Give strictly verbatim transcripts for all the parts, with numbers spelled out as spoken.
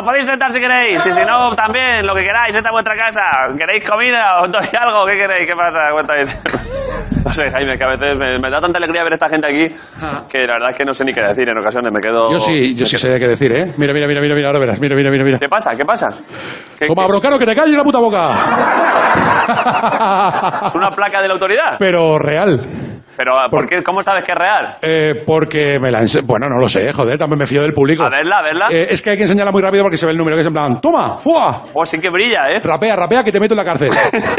podéis sentar si queréis. Y si no, también, lo que queráis, esta es vuestra casa. ¿Queréis comida? ¿Os doy algo? ¿Qué queréis? ¿Qué pasa? Cuéntanos. No sé, Jaime, que a veces me, me da tanta alegría ver a esta gente aquí que la verdad es que no sé ni qué decir en ocasiones. Me quedo... Yo sí, yo sí sé qué decir, ¿eh? Mira, mira, mira, mira, mira, ahora verás. Mira, mira, mira, mira. ¿Qué pasa? ¿Qué pasa? ¿Qué, Toma, qué? Brocaro, que te calles la puta boca. ¿Es una placa de la autoridad? Pero real. Pero, ¿por qué? ¿Cómo sabes que es real? Eh, porque me la ense... Bueno, no lo sé, joder, también me fío del público. A verla, a verla. Eh, es que hay que enseñarla muy rápido porque se ve el número, que es en plan, toma, ¡fua! Oh, sí que brilla, ¿eh? Rapea, rapea, que te meto en la cárcel.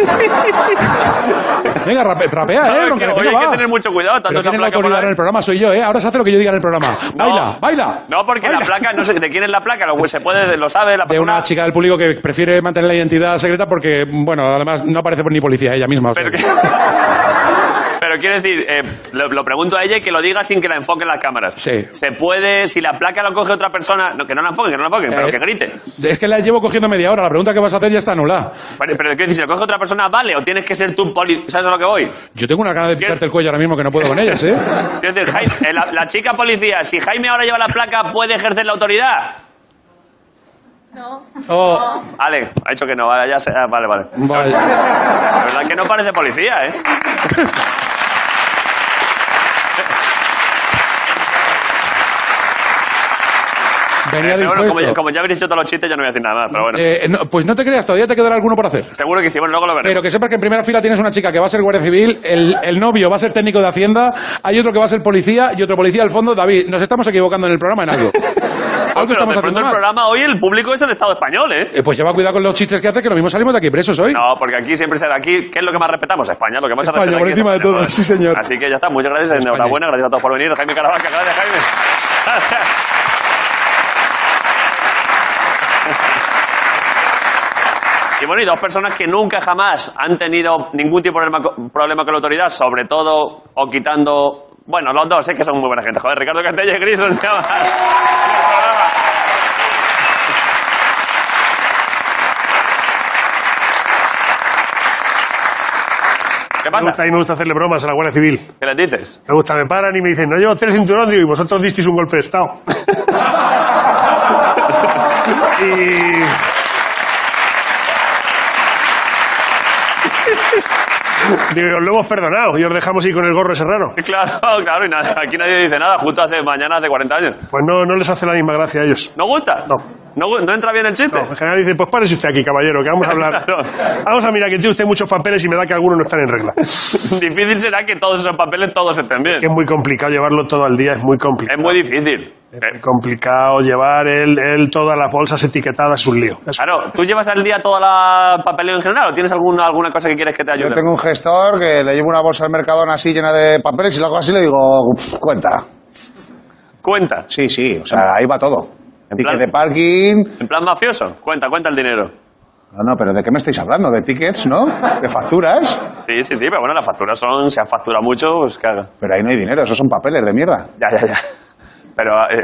Venga, rape, rapea, ¿eh? No, Que, que, venga, oye, hay va. que tener mucho cuidado. Tanto Pero esa ¿quién es la placa por autoridad ahí. en el programa? Soy yo, ¿eh? Ahora se hace lo que yo diga en el programa. No. Baila, baila. No, porque baila. la placa, no sé de quién es la placa, lo, se puede, lo sabe la De persona. una chica del público que prefiere mantener la identidad secreta porque, bueno, además no aparece ni policía ella misma. O sea. Pero, que... Pero quiero decir, eh, lo, lo pregunto a ella y que lo diga sin que la enfoquen las cámaras. Sí. Se puede, si la placa lo coge otra persona, no, que no la enfoquen, que no la enfoquen, Eh, pero que grite. Es que la llevo cogiendo media hora. La pregunta que vas a hacer ya está anulada. Pero, pero quiero decir, si lo coge otra persona, ¿vale? ¿O tienes que ser tú poli... ¿Sabes a lo que voy? Yo tengo una gana de pisarte el cuello ahora mismo que no puedo con ellas, ¿eh? Quiero decir, Jaime, eh, la, la chica policía, si Jaime ahora lleva la placa, ¿puede ejercer la autoridad? No. Oh, Vale, ha dicho que no, vale, ya sé, ah, vale, vale. vale. La verdad es que no parece policía, ¿eh? Venía Eh, pero bueno, dispuesto. como, ya, como ya habréis hecho todos los chistes, ya no voy a decir nada más, pero bueno. Eh, no, pues no te creas, todavía te quedará alguno por hacer. Seguro que sí, bueno, luego lo veremos. Pero que sepas que en primera fila tienes una chica que va a ser guardia civil, el, el novio va a ser técnico de Hacienda, hay otro que va a ser policía y otro policía al fondo. David, nos estamos equivocando en el programa en algo. Algo Pero estamos de pronto haciendo el mal. programa hoy, el público es el Estado español, ¿eh? Eh, pues lleva cuidado con los chistes que hace, que lo mismo salimos de aquí presos hoy. No, porque aquí siempre será aquí. ¿Qué es lo que más respetamos? España. Lo que más se España, respeta por aquí es encima de España, todo, joder. sí, señor. Así que ya está. Muchas gracias. España. Enhorabuena. Gracias a todos por venir. Jaime Caravaca. Gracias, Jaime. Gracias. Y bueno, y dos personas que nunca jamás han tenido ningún tipo de problema, problema con la autoridad, sobre todo, o quitando... Bueno, los dos, es que son muy buena gente. Joder, Ricardo Castella y Grison. ¿Qué Me pasa? gusta, a mí me gusta hacerle bromas a la Guardia Civil. ¿Qué les dices? Me gusta, me paran y me dicen, no llevo tres cinturón, digo, y vosotros disteis un golpe de Estado. y... Digo, os lo hemos perdonado y os dejamos ir con el gorro ese raro. Claro, claro, y nada, aquí nadie dice nada, justo hace mañana, hace cuarenta años. Pues no, no les hace la misma gracia a ellos. ¿No gusta? No. ¿No, gu- no entra bien el chiste? No, en general dice, pues párese usted aquí, caballero, que vamos a hablar. Claro. Vamos a mirar que tiene usted muchos papeles y me da que algunos no están en regla. Difícil será que todos esos papeles todos estén bien. Que es muy complicado llevarlo todo al día, es muy complicado. Es muy difícil. Es muy complicado llevar él, él todas las bolsas etiquetadas, es un lío. Es- Claro, ¿tú llevas al día toda la papeleo en general o tienes alguna, alguna cosa que quieres que te ayude? Yo tengo un gestor que le llevo una bolsa al Mercadona así llena de papeles y luego así le digo, "Uf, cuenta. Cuenta. Sí, sí, o sea, ahí va todo. En Ticket plan- de parking. En plan mafioso. Cuenta, cuenta el dinero. No, no, pero ¿de qué me estáis hablando? ¿De tickets, no? ¿De facturas? Sí, sí, sí, pero bueno, las facturas son... Si has facturado mucho, pues que haga. Pero ahí no hay dinero, esos son papeles de mierda. Ya, ya, ya. Pero... Eh,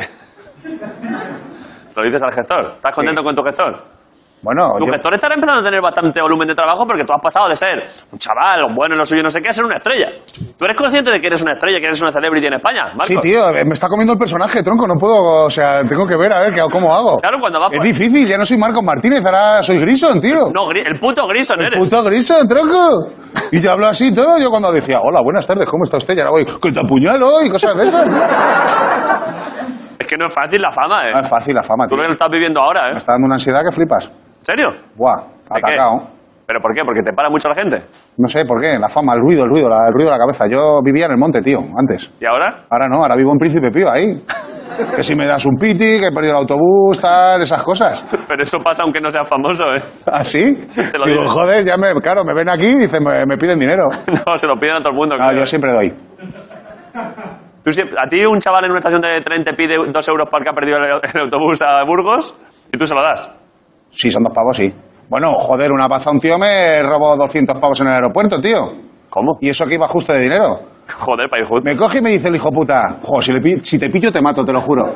lo dices al gestor. ¿Estás contento Sí. con tu gestor? Bueno, Tu yo- gestor estará empezando a tener bastante volumen de trabajo porque tú has pasado de ser un chaval, bueno en lo suyo, no sé qué, a ser una estrella. ¿Tú eres consciente de que eres una estrella, que eres una celebrity en España, Marcos? sí, tío, me está comiendo el personaje, tronco, no puedo, o sea, tengo que ver a ver qué, cómo hago. Claro, cuando vas Es por... difícil, ya no soy Marcos Martínez, ahora soy Grison, tío. No, Gri- el puto Grison eres. Puto Grison, tronco. Y yo hablo así todo, yo cuando decía, hola, buenas tardes, ¿cómo está usted? Y ahora voy, que te apuñalo y cosas de esas. Es que no es fácil la fama, ¿eh? No es fácil la fama, Tú tío. lo estás viviendo ahora, Me ¿eh? está dando una ansiedad que flipas. ¿En serio? Buah, ¿De qué? atacado. ¿Pero por qué? ¿Porque te para mucho la gente? No sé por qué, la fama, el ruido, el ruido, la- el ruido de la cabeza. Yo vivía en el monte, tío, antes. ¿Y ahora? Ahora no, ahora vivo en Príncipe Pío, ahí. Que si me das un piti, que he perdido el autobús, tal, esas cosas. Pero eso pasa aunque no seas famoso, ¿eh? ¿Ah, sí? Te lo Digo, digo. joder, ya me, claro, me ven aquí y dicen, me, me piden dinero. No, se lo piden a todo el mundo. No, claro. yo siempre doy. Tú siempre- a ti un chaval en una estación de tren te pide dos euros porque ha perdido el, el autobús a Burgos y tú se lo das. Sí, son dos pavos, sí. Bueno, joder, una paz a un tío me robó doscientos pavos en el aeropuerto, tío. ¿Cómo? Y eso que iba justo de dinero. Joder, país justo. Me coge y me dice el hijo puta, jo, si, le pi- si te pillo te mato, te lo juro.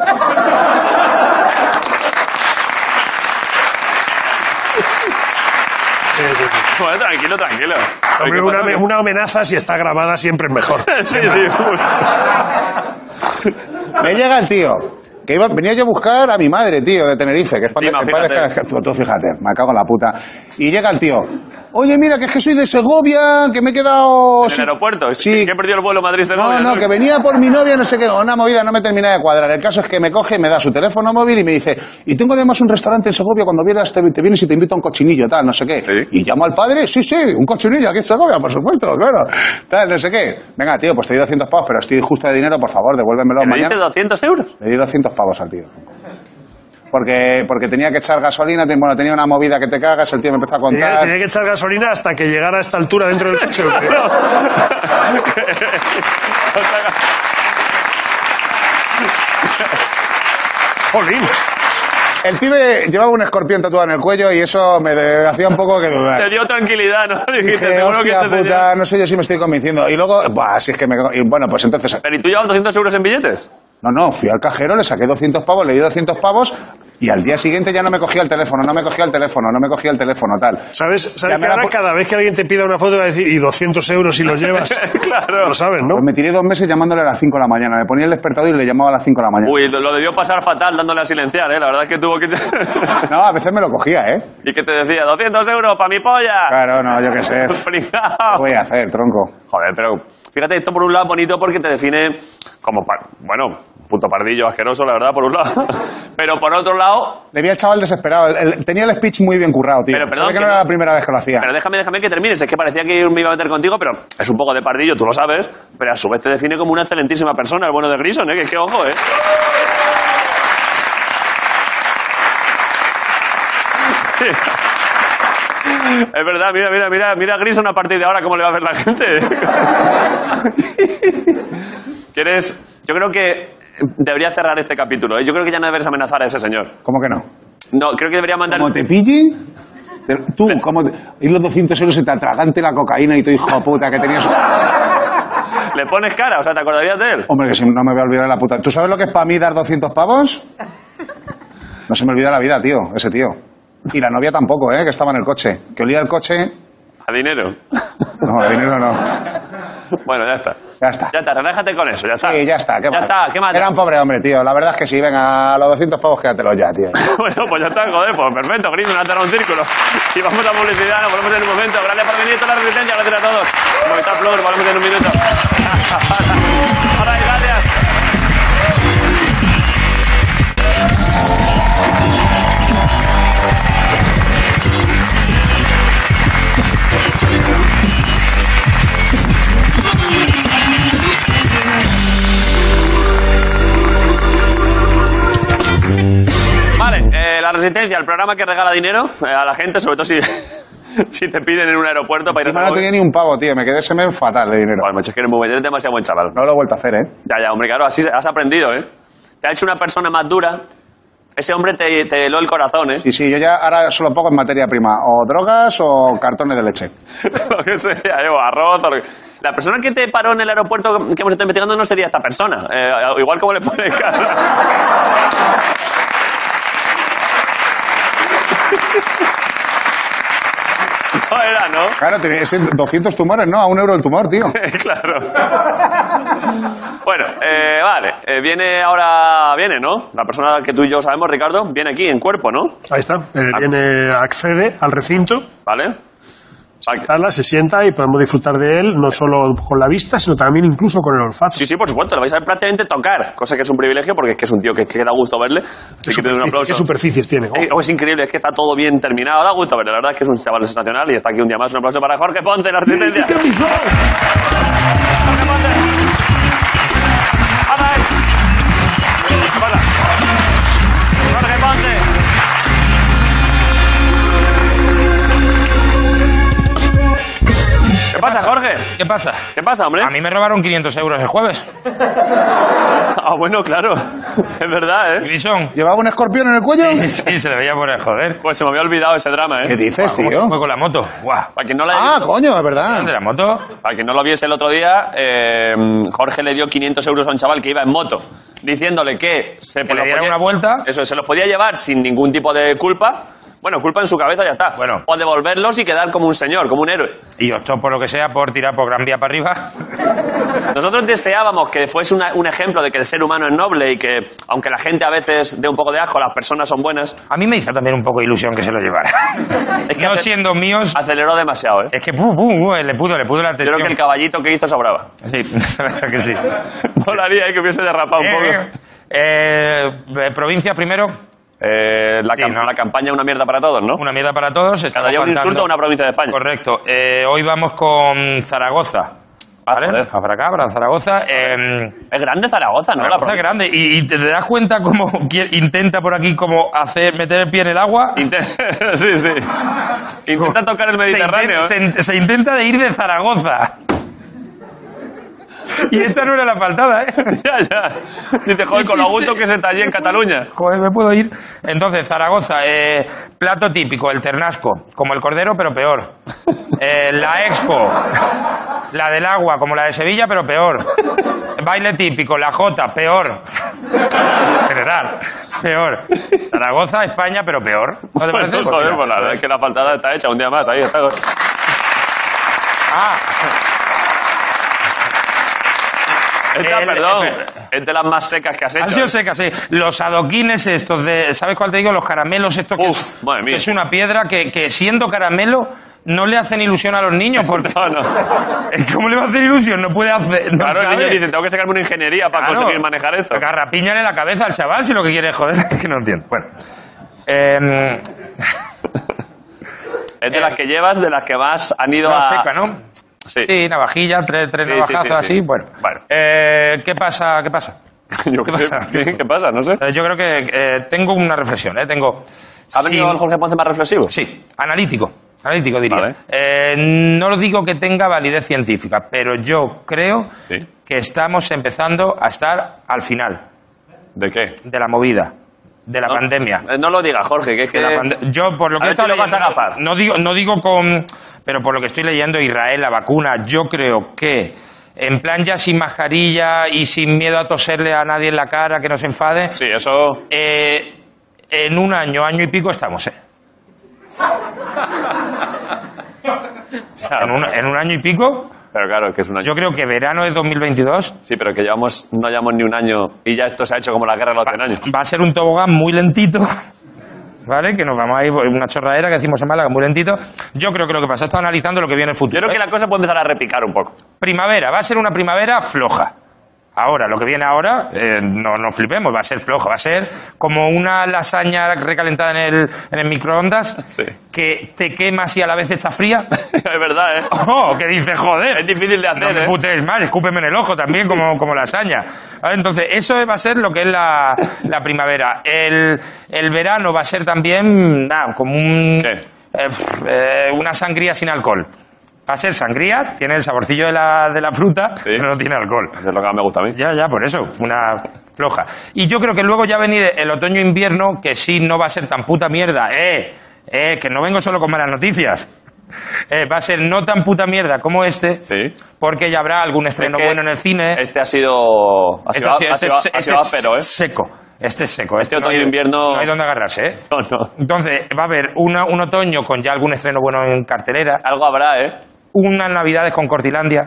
Sí, sí, sí. Bueno, tranquilo, tranquilo. Hombre, ¿Qué una, pasa? una amenaza, si está grabada, siempre es mejor. Sí, sí. Me llega el tío, que iba, venía yo a buscar a mi madre, tío, de Tenerife, que es para... Sí, ma, fíjate. Tú, tú fíjate, me cago en la puta. Y llega el tío... Oye, mira, que es que soy de Segovia, que me he quedado... ¿En el sí, aeropuerto? Sí. Que he perdido el vuelo Madrid-Segovia. No, no, que venía por mi novia, no sé qué, una movida, no me termina de cuadrar. El caso es que me coge, me da su teléfono móvil y me dice, y tengo además un restaurante en Segovia, cuando vienes te, te vienes y te invito a un cochinillo, tal, no sé qué. ¿Sí? Y llamo al padre, sí, sí, un cochinillo aquí en Segovia, por supuesto, claro. Tal, no sé qué. Venga, tío, pues te doy doscientos pavos, pero estoy justo de dinero, por favor, devuélvemelo ¿Que me mañana. diste doscientos euros? Le di doscientos pavos al tío. Porque, porque tenía que echar gasolina, te- bueno, tenía una movida que te cagas, el tío me empezó a Tenía, contar. tenía que echar gasolina hasta que llegara a esta altura dentro del coche. ¿o qué? Jolín. El pibe llevaba un escorpión tatuado en el cuello y eso me de- hacía un poco que dudar. Te dio tranquilidad, ¿no? Dijiste, Dije, seguro que hostia este puta, señor... no sé yo si me estoy convenciendo. Y luego, buah, si es que me... Y bueno, pues entonces... Pero ¿y tú llevas doscientos euros en billetes? No, no, fui al cajero, le saqué doscientos pavos, le di doscientos pavos y al día siguiente ya no me cogía el teléfono, no me cogía el teléfono, no me cogía el teléfono, tal. ¿Sabes, Ya sabes me que la ahora pu- cada vez que alguien te pida una foto va a decir, y doscientos euros si los llevas? Claro. Lo sabes, ¿no? Pues me tiré dos meses llamándole a las cinco de la mañana. Me ponía el despertador y le llamaba a las cinco de la mañana. Uy, lo lo debió pasar fatal dándole a silenciar, ¿eh? La verdad es que tuvo que... No, a veces me lo cogía, ¿eh? ¿Y qué te decía? ¿doscientos euros para mi polla? Claro, no, yo qué sé. ¿Qué Pringao. voy a hacer, tronco? Joder, pero fíjate, esto por un lado es bonito porque te define como, par- bueno, puto pardillo asqueroso, la verdad, por un lado. Pero por otro lado, Le vi al chaval desesperado. El- el- tenía el speech muy bien currado, tío. Pero, perdón, Se ve que que no no- era la primera vez que lo hacía. pero déjame, déjame que termines. Es que parecía que me iba a meter contigo, pero es un poco de pardillo, tú lo sabes. Pero a su vez te define como una excelentísima persona, el bueno de Grison, ¿eh? Que, que ojo, ¿eh? Es verdad, mira, mira, mira, mira a Grison a partir de ahora cómo le va a ver la gente. ¿Quieres? Yo creo que debería cerrar este capítulo, ¿eh? Yo creo que ya no deberías amenazar a ese señor. ¿Cómo que no? No, creo que debería mandar... Como te pille... te- Tú, como te... Y los doscientos euros se te atragante la cocaína y tú, hijo de puta, que tenías... ¿Le pones cara? O sea, ¿te acordarías de él? Hombre, que si no me voy a olvidar de la puta... ¿Tú sabes lo que es para mí dar doscientos pavos? No se me olvida la vida, tío, ese tío. Y la novia tampoco, ¿eh? Que estaba en el coche. Que olía el coche... A dinero. No, el dinero no. Bueno, ya está. Ya está. Ya está, relájate con eso, ya está. Sí, ya está. ¿Qué Ya más? está, ¿qué más? Era un pobre hombre, tío. La verdad es que sí. Venga, a los doscientos pavos quédatelos ya, tío. Bueno, pues ya está, joder, pues perfecto, Grison, ha cerrado un círculo. Y vamos a publicidad, nos volvemos en un momento. Gracias por venir, toda la resistencia, gracias a todos. Movistar Plus, volvemos en un minuto. Ahora, gracias. Vale, eh, la resistencia, el programa que regala dinero eh, a la gente, sobre todo si, si te piden en un aeropuerto para ir a Encima no tenía ni un pavo, tío. Me quedé ese mes fatal de dinero. Bueno, macho, es que eres, muy, buen- eres demasiado buen chaval. No lo he vuelto a hacer, ¿eh? Ya, ya, hombre, claro, así has aprendido, ¿eh? Te ha hecho una persona más dura. Ese hombre te, te heló el corazón, ¿eh? Sí, sí. Yo ya ahora solo pongo en materia prima. O drogas o cartones de leche. Lo que sea, yo, arroz. o lo que- La persona que te paró en el aeropuerto que hemos estado investigando no sería esta persona. Eh, igual como le pone cara. No era, ¿no? Claro, tenía ese doscientos tumores, ¿no? A un euro el tumor, tío. Claro. Bueno, eh, vale. Eh, viene ahora, viene, ¿no? La persona que tú y yo sabemos, Ricardo, viene aquí en cuerpo, ¿no? Ahí está. Eh, viene, accede al recinto, ¿Vale? Vale. instala, se sienta y podemos disfrutar de él no solo con la vista, sino también incluso con el olfato. Sí, sí, por supuesto, lo vais a ver prácticamente tocar, cosa que es un privilegio porque es que es un tío que, que da gusto verle. Así que te doy un ¿Qué aplauso. superficies tiene? Eh, oh, es increíble, es que está todo bien terminado, da gusto verle. La verdad es que es un chaval sensacional y está aquí un día más. Un aplauso para Jorge Ponte, la resistencia. Jorge Ponte. ¡Anda ahí! Hola. Jorge Ponte. ¿Qué pasa, Jorge? ¿Qué pasa? ¿Qué pasa, hombre? A mí me robaron quinientos euros el jueves. Ah, bueno, claro. Es verdad, ¿eh? Grison. ¿Llevaba un escorpión en el cuello? Sí, se le veía por el joder. Pues se me había olvidado ese drama, ¿eh? ¿Qué dices, ¿Cómo tío? se fue con la moto? Guau. Para quien no la haya Ah, visto- coño, es verdad. ¿De la moto? Para quien no lo viese el otro día, eh, Jorge le dio quinientos euros a un chaval que iba en moto, diciéndole que se Que le los diera podía- una vuelta. Eso, se los podía llevar sin ningún tipo de culpa, Bueno, culpa en su cabeza y ya está. Bueno. O devolverlos y quedar como un señor, como un héroe. Y optó por lo que sea por tirar por Gran Vía para arriba. Nosotros deseábamos que fuese una- un ejemplo de que el ser humano es noble y que, aunque la gente a veces dé un poco de asco, las personas son buenas. A mí me hizo también un poco de ilusión que se lo llevara. Es que no ace- siendo míos, aceleró demasiado, ¿eh? es que pu, pu, pu, le pudo, le pudo la Yo atención. creo que el caballito que hizo sobraba. Sí, la verdad que sí. Molaría eh, que hubiese derrapado un Eh, poco. eh, eh, provincia primero, Eh, la, Sí, cam- ¿no? la campaña Una mierda para todos, ¿no? una mierda para todos. Cada estamos día un faltando- insulto a una provincia de España. Correcto. Eh, hoy vamos con Zaragoza. ¿Vale? joder. Para acá, para Zaragoza. Eh, Es grande Zaragoza, ¿no? La Zaragoza es provincia. grande. Y, y te das cuenta cómo qui- intenta por aquí como hacer meter el pie en el agua. Inte- sí, sí. Intenta tocar el Mediterráneo. Se, ¿eh? inten- se, se intenta de ir de Zaragoza. Y esta no era la faltada, ¿eh? Ya, ya. Dice, joder, con lo a gusto que se está allí en Cataluña. Joder, me puedo ir. Entonces, Zaragoza, eh, plato típico, el ternasco, como el cordero, pero peor. Eh, la expo, la del agua, como la de Sevilla, pero peor. Baile típico, la jota, peor. General, peor. Zaragoza, España, pero peor. ¿No te parece? Pues, Pues joder, mira, pues la verdad es que la faltada está hecha un día más. Ahí está. Ah, Esta, El- perdón, el- es de las más secas que has hecho. han sido secas, sí. Los adoquines estos de... ¿Sabes cuál te digo? Los caramelos estos que Uf, es, madre mía. que es una piedra que, que siendo caramelo no le hacen ilusión a los niños porque... No, no. ¿Cómo le va a hacer ilusión? No puede hacer... No Claro, el sabe. niño dice, tengo que sacarme una ingeniería para Claro. conseguir manejar esto. Garrapiñale la cabeza al chaval si lo que quiere es joder. Es que no entiendo. Bueno. Em, Es de las que llevas, de las que más han ido la a... seca, ¿no? Sí. Sí, navajilla, tres, tres Sí, navajazos sí, sí, así. sí. Bueno. Bueno. Eh, ¿Qué pasa? ¿Qué pasa? Yo qué ¿Qué sé. pasa? ¿Qué, qué pasa? No sé. Eh, yo creo que eh, tengo una reflexión, ¿eh? Tengo... ¿Ha venido Sí. el Jorge Ponce más reflexivo? Sí, analítico. Analítico, diría. Vale. Eh, no lo digo que tenga validez científica, pero yo creo Sí. que estamos empezando a estar al final ¿De qué? de la movida, de la No, pandemia. eh, No lo digas, Jorge, que es que... De la pande- yo, por lo A que he ver si estado lo vas a leyendo, agafar. no digo, no digo con... Pero por lo que estoy leyendo, Israel, la vacuna, yo creo que en plan ya sin mascarilla y sin miedo a toserle a nadie en la cara, que no se enfade, Sí, eso... eh, en un año, año y pico estamos, ¿eh? En un, en un año y pico, Pero claro, es que es un año... yo creo que verano de dos mil veintidós Sí, pero que llevamos, no llevamos ni un año y ya esto se ha hecho como la guerra de los cien años. va a ser un tobogán muy lentito, ¿vale? Que nos vamos a ir por una chorradera que decimos en Málaga, muy lentito. Yo creo que lo que pasa, está analizando lo que viene en el futuro. Yo creo que ¿eh? la cosa puede empezar a repicar un poco. Primavera, va a ser una primavera floja. Ahora, lo que viene ahora, eh, no nos flipemos, va a ser floja, va a ser como una lasaña recalentada en el, en el microondas, Sí. que te quemas y a la vez está fría. Es verdad, ¿eh? ¡Oh! Que dice, joder. Es difícil de hacer, No me ¿eh? putees más, escúpeme en el ojo también, como, como lasaña. ¿Vale? Entonces, eso va a ser lo que es la, la primavera. El, el verano va a ser también, nada, como un, ¿Qué? eh, pf, eh, una sangría sin alcohol. Va a ser sangría, tiene el saborcillo de la, de la fruta, Sí. pero no tiene alcohol. Eso es lo que más me gusta a mí. Ya, ya, por eso, una floja. Y yo creo que luego ya venir el otoño-invierno, que sí no va a ser tan puta mierda. Eh, eh, que no vengo solo con malas noticias. Eh, va a ser no tan puta mierda como este, Sí. porque ya habrá algún estreno Es que bueno en el cine. Este ha sido... Ha sido, Este- ha este sido, es- ha este sido es áspero, ¿eh? seco. Este es seco. Este no hay- otoño-invierno- No hay donde agarrarse, ¿eh? No, no. Entonces, va a haber una, un otoño con ya algún estreno bueno en cartelera, Algo habrá, ¿eh? unas navidades con Cortilandia.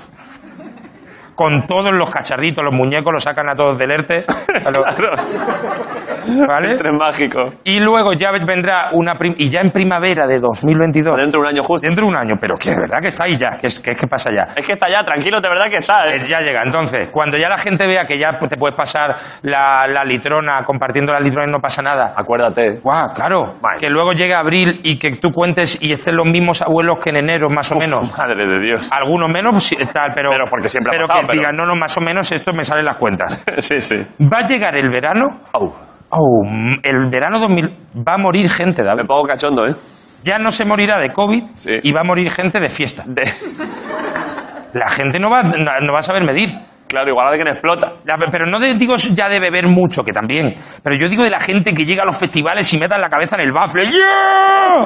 Con todos los cacharritos, los muñecos, los sacan a todos del ERTE. A los- Claro. ¿Vale? El tren mágico. Y luego ya vendrá una... prim- y ya en primavera de dos mil veintidós, Dentro de un año justo. dentro de un año, pero que de verdad que está ahí ya, que es que, que pasa ya. Es que está ya, tranquilo, de verdad que está, Eh, ¿eh? Ya llega. Entonces, cuando ya la gente vea que ya pues, te puedes pasar la, la litrona, compartiendo la litrona y no pasa nada. Acuérdate. Guau, claro. Vale. Que luego llegue abril y que tú cuentes y estén los mismos abuelos que en enero, más o menos. Madre de Dios. Algunos menos, pues, sí, tal, pero, Pero porque siempre ha pero pasado, que pero- digan, no, no, más o menos esto me salen las cuentas. Sí, sí. Va a llegar el verano. Au. Oh, mm, el verano dos mil va a morir gente, Me David. pongo cachondo, ¿eh? Ya no se morirá de COVID Sí. y va a morir gente de fiesta. De... La gente no va, no, no va a saber medir. Claro, igual alguien explota. La- pero no de- digo ya de beber mucho, que también. Pero yo digo de la gente que llega a los festivales y meta la cabeza en el bafle. ¡Yeah!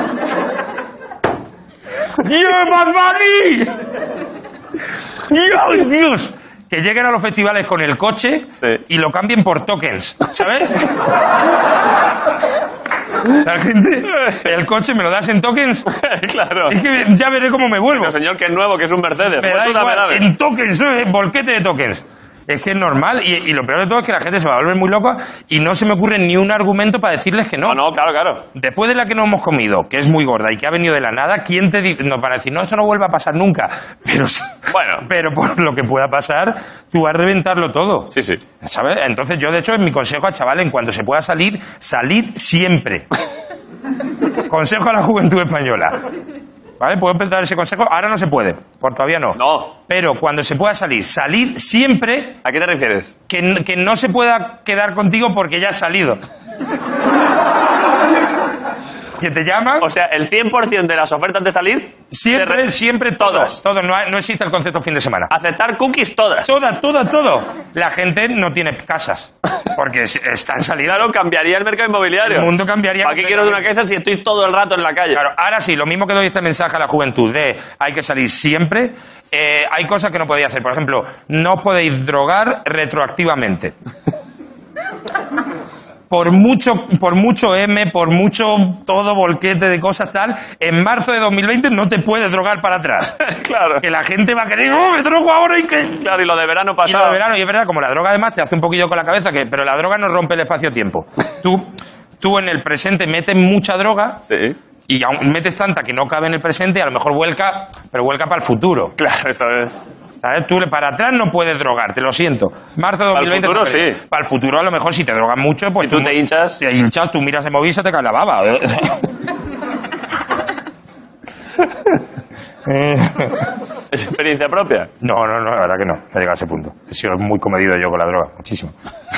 ¡Yeah, Bad Bunny! ¡Yeah, Dios! Que lleguen a los festivales con el coche Sí. y lo cambien por tokens, ¿sabes? La gente, el coche me lo das en tokens. Claro. Es que ya veré cómo me vuelvo. El señor que es nuevo, que es un Mercedes. Me Pues da tú dame, igual, dame. en tokens, ¿eh? Bolquete de tokens. Es que es normal. Y, y lo peor de todo es que la gente se va a volver muy loca y no se me ocurre ni un argumento para decirles que no. No, no, claro, claro. Después de la que no hemos comido, que es muy gorda y que ha venido de la nada, ¿quién te dice? No, para decir, no, eso no vuelve a pasar nunca. Pero, Bueno. pero por lo que pueda pasar, tú vas a reventarlo todo. Sí, sí. ¿Sabes? Entonces yo, de hecho, en mi consejo a chaval, en cuanto se pueda salir, salid siempre. Consejo a la juventud española. ¿Vale? ¿Puedo empezar ese consejo? Ahora no se puede, por todavía no. No. Pero cuando se pueda salir, salid siempre, ¿A qué te refieres? que, n- que no se pueda quedar contigo porque ya has salido. Que te llaman, O sea, el cien por ciento de las ofertas de salir... siempre, se re- siempre Todas. todos. Todos, no, hay- no existe el concepto fin de semana. Aceptar cookies todas. Toda, toda, todo. La gente no tiene casas, porque es- están saliendo. Claro, cambiaría el mercado inmobiliario. El mundo cambiaría. ¿Para qué quiero de una casa si estoy todo el rato en la calle? Claro, ahora sí, lo mismo que doy este mensaje a la juventud de hay que salir siempre, eh, hay cosas que no podéis hacer. Por ejemplo, no podéis drogar retroactivamente. Por mucho, por mucho M, por mucho todo volquete de cosas tal, en marzo de dos mil veinte no te puedes drogar para atrás. Claro. Que la gente va a querer, oh, me drogo ahora y que... Claro, y lo de verano Y pasado. lo de verano, y es verdad, como la droga además te hace un poquillo con la cabeza, que, pero la droga no rompe el espacio-tiempo. Tú, tú en el presente metes mucha droga Sí. y aún metes tanta que no cabe en el presente y a lo mejor vuelca, pero vuelca para el futuro. Claro, eso es. ¿Sabes? Tú para atrás no puedes drogarte, lo siento. Marzo de Para el dos mil veinte. futuro, no puedes. sí. Para el futuro, a lo mejor, si te drogas mucho, pues. Si tú te hinchas. Te hinchas, tú miras en móvil y se te cae la baba. Eh, ¿Es experiencia propia? no, no, no, la verdad que no. No he llegado a ese punto. He sido muy comedido yo con la droga, muchísimo.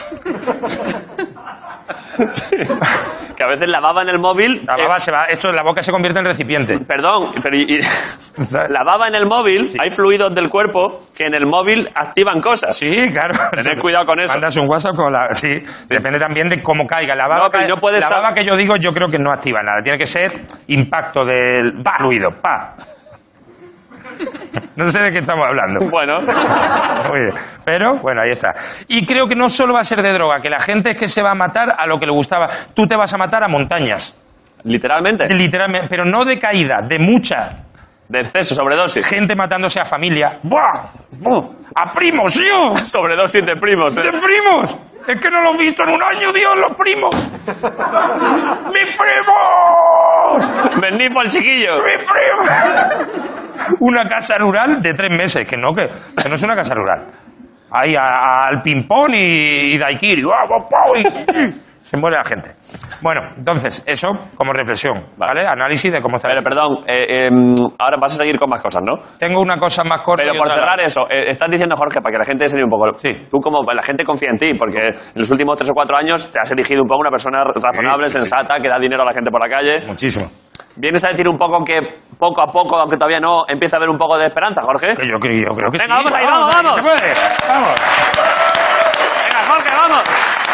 Que a veces la baba en el móvil... La eh, baba se va, esto, la boca se convierte en recipiente. Perdón, pero y- y- la baba en el móvil, hay fluidos del cuerpo que en el móvil activan cosas. Sí, claro. Tened cuidado con eso. Mandas un WhatsApp con la... Sí, depende también de cómo caiga. La baba, No, pero cae- no puedes la sab- baba que yo digo, yo creo que no activa nada. Tiene que ser impacto del fluido. Pa. No sé de qué estamos hablando. Bueno, Muy bien. Pero, bueno, ahí está. Y creo que no solo va a ser de droga, que la gente es que se va a matar a lo que le gustaba. Tú te vas a matar a montañas. literalmente. Literalmente. Pero no de caída, de mucha. De exceso, sobredosis. Gente matándose a familia. ¡Buah! ¡Buh! ¡A primos, tío! Sobredosis de primos. ¡De ¿eh? primos! Es que no lo he visto en un año, Dios, los primos. ¡Mi primo! Venid por el chiquillo. ¡Mi primo! Una casa rural de tres meses, que no, que, que no es una casa rural. Ahí a- a- al ping-pong y, y daiquiri. ¡Guau, guau, guau! Y- se muere la gente. Bueno, entonces, eso como reflexión, ¿vale? Análisis de cómo está. Pero perdón, eh, eh, ahora vas a seguir con más cosas, ¿no? Tengo una cosa más corta. Pero y por otra cerrar larga. eso, eh, estás diciendo, Jorge, para que la gente se líe un poco. Sí. Tú como la gente confía en ti, porque en los últimos tres o cuatro años te has elegido un poco una persona razonable, Sí, sí, sensata, que da dinero a la gente por la calle. Muchísimo. ¿Vienes a decir un poco que poco a poco, aunque todavía no, empieza a haber un poco de esperanza, Jorge? Que yo, creo- yo creo que Venga, sí. vamos ahí, vamos, vamos. ¿Se puede? Vamos. Venga, Jorge, vamos.